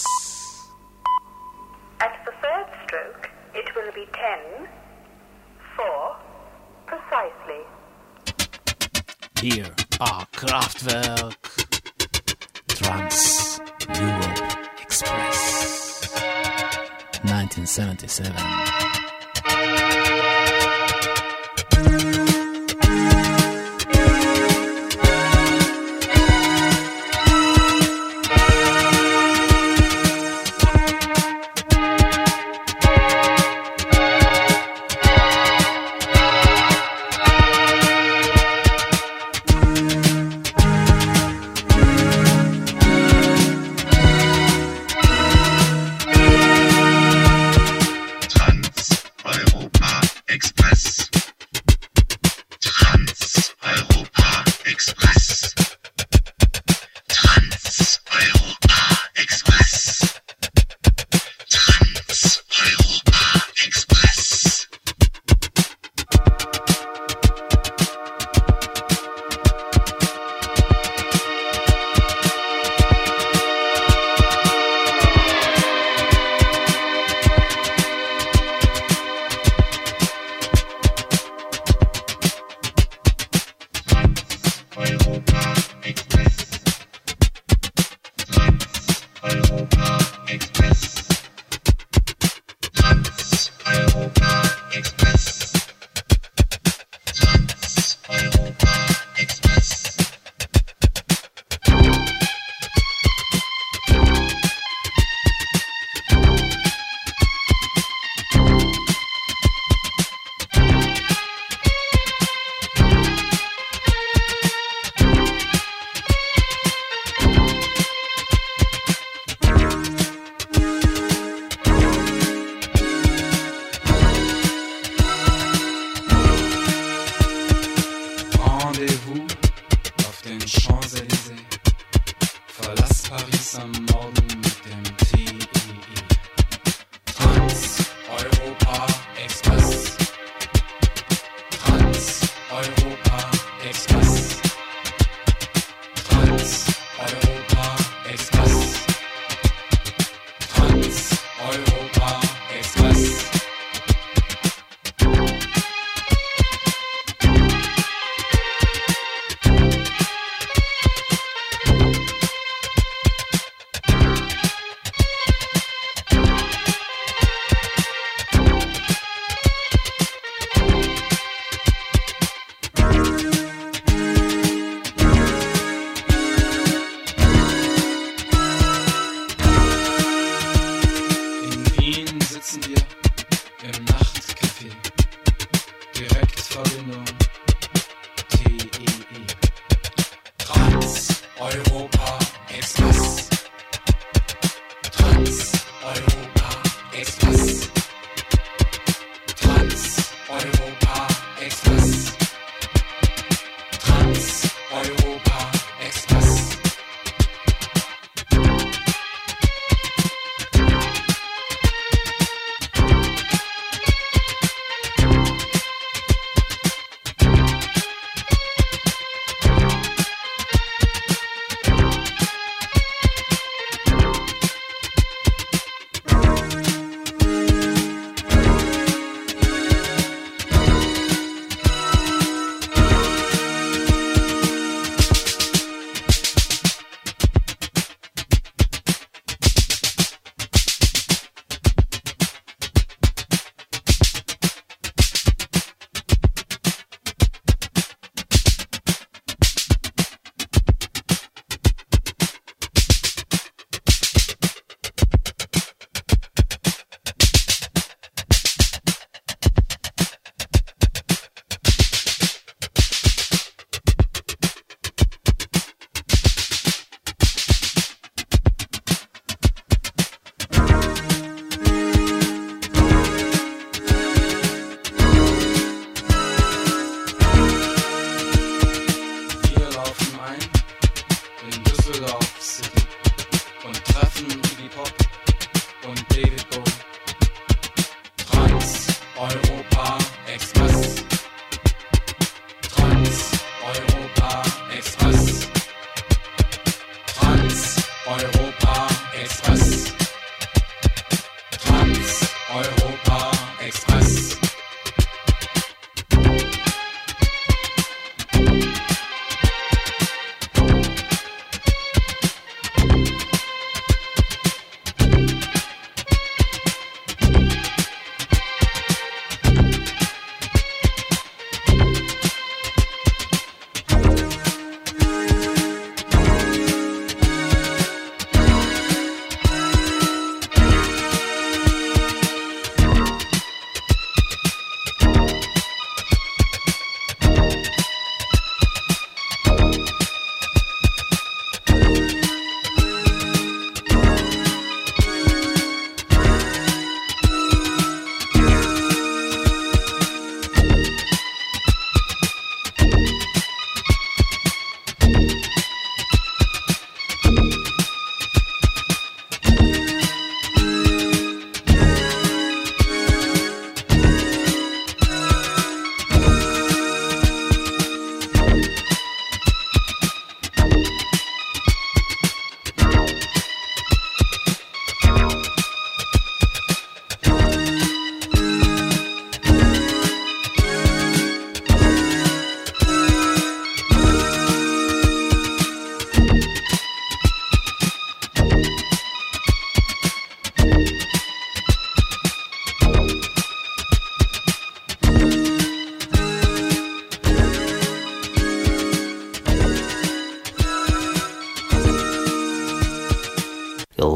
At the third stroke, it will be ten, four, precisely. Here are Kraftwerk Trans Europe Express nineteen seventy-seven.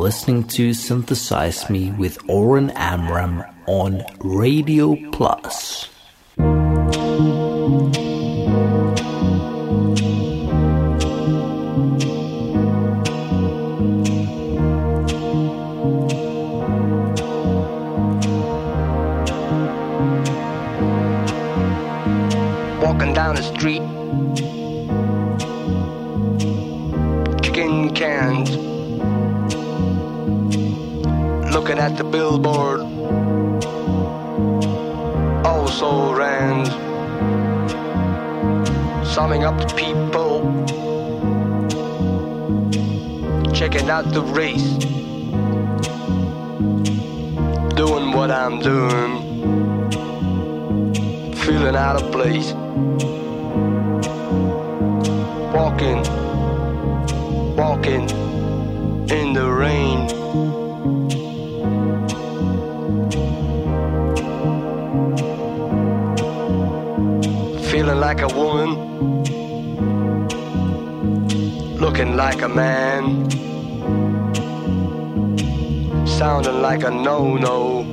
listening to Synthesize Me with Oren Amram on Radio Plus. Walking down the street, chicken cans, looking at the billboard, also ran, summing up the people, checking out the race, doing what I'm doing, feeling out of place. Walking, walking in the rain. Feeling like a woman, looking like a man, sounding like a no-no,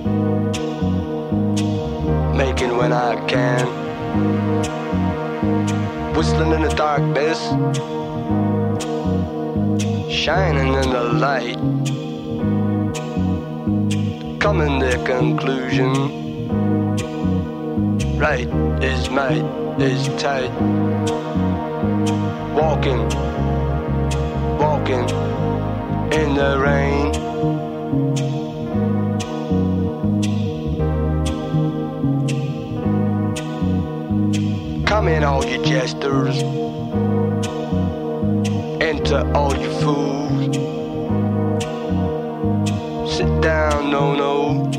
making when I can. Whistling in the darkness, shining in the light, coming to conclusion. Right is might is tight. Walking, walking in the rain. Come in, all you jesters. Enter, all you fools. Sit down, no, no.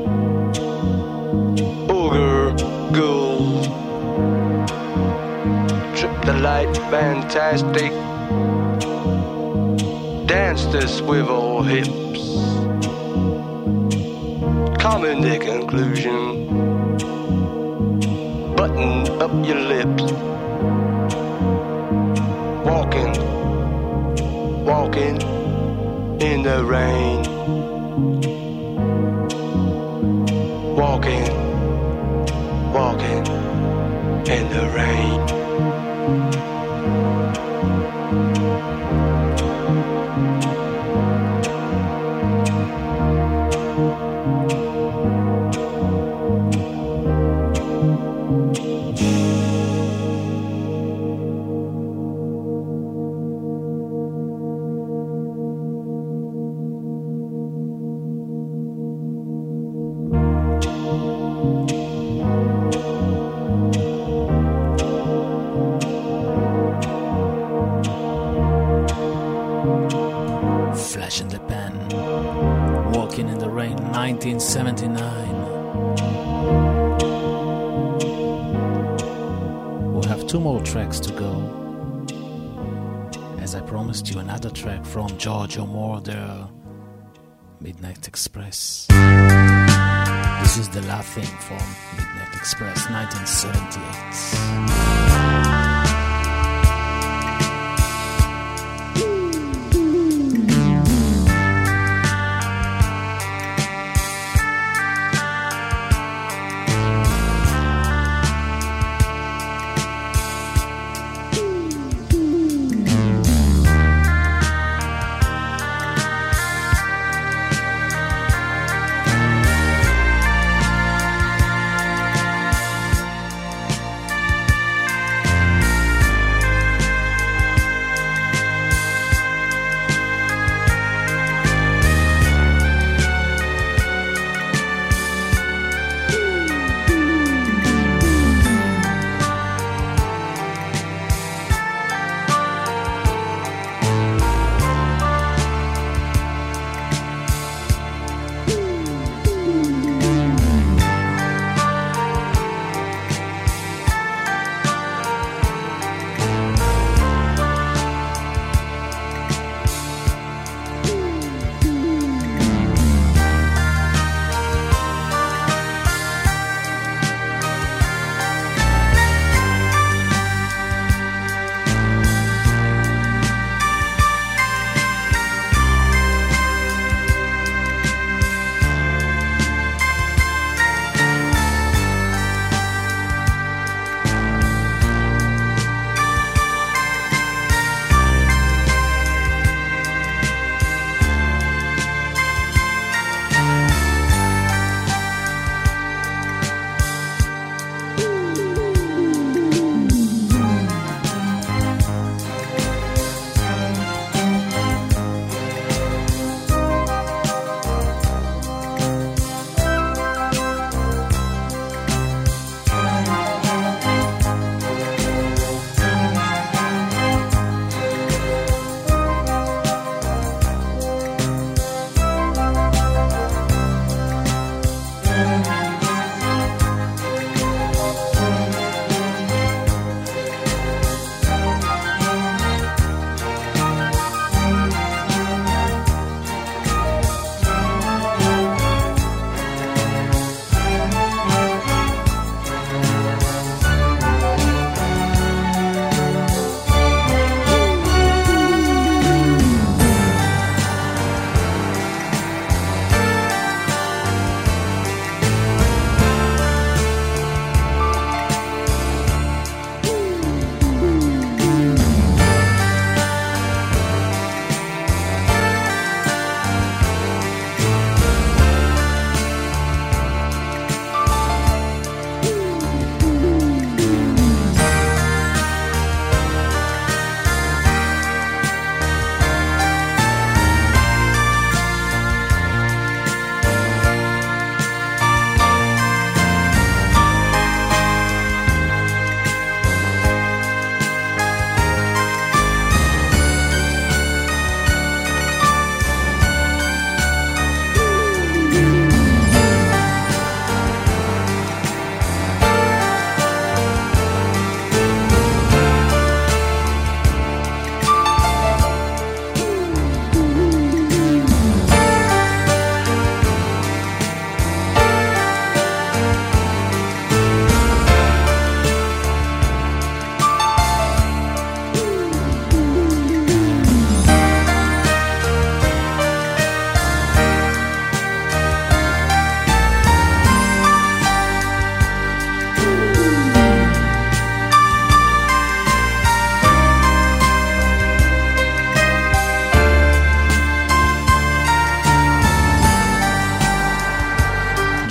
Ogre, ghouls. Trip the light, fantastic. Dance the swivel hips. Come in the conclusion. Button up your lips. Walking, walking in the rain. Walking, walking in the rain. nineteen seventy-nine. We'll have two more tracks to go. As I promised you, another track from Giorgio Moroder, Midnight Express. This is The Laughing from Midnight Express, nineteen seventy-eight.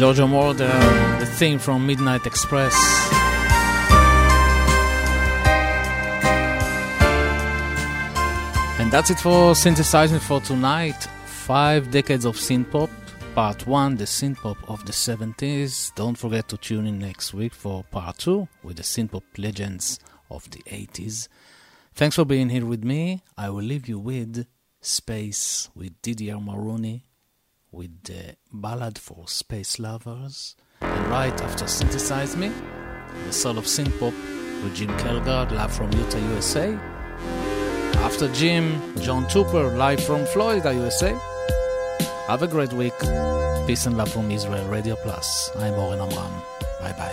Giorgio Moroder, the theme from Midnight Express. And that's it for Synthesizing for tonight. Five decades of synth-pop. Part one, the synth-pop of the seventies. Don't forget to tune in next week for part two with the synth-pop legends of the eighties. Thanks for being here with me. I will leave you with Space with Didier Maroney, with the Ballad for Space Lovers. And right after Synthesize Me, the soul of synth-pop with Jim Kelgard, live from Utah, U S A. After Jim, John Tupper, live from Florida, U S A. Have a great week. Peace and love from Israel Radio Plus. I'm Oren Amram. Bye-bye.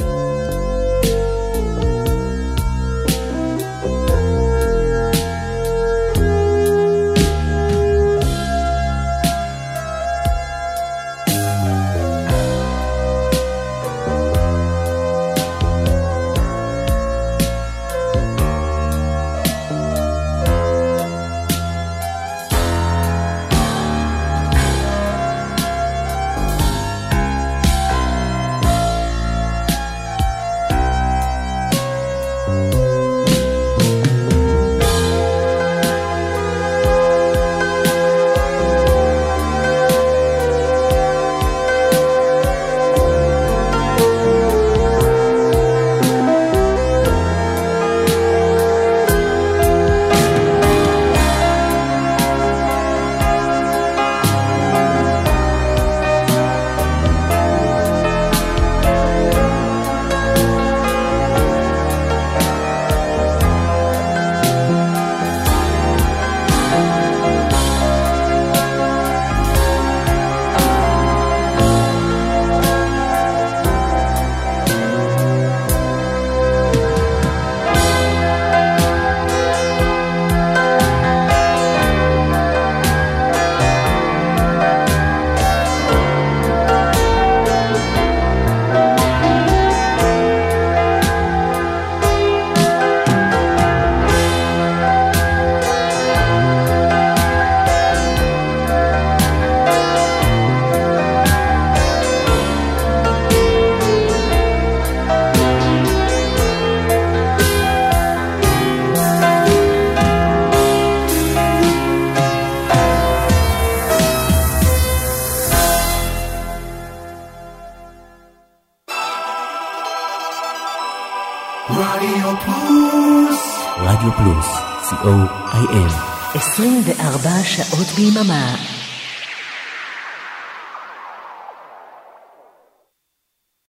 רדיו פלוס. רדיו פלוס, סי או איי אל. עשרים וארבע שעות ביממה.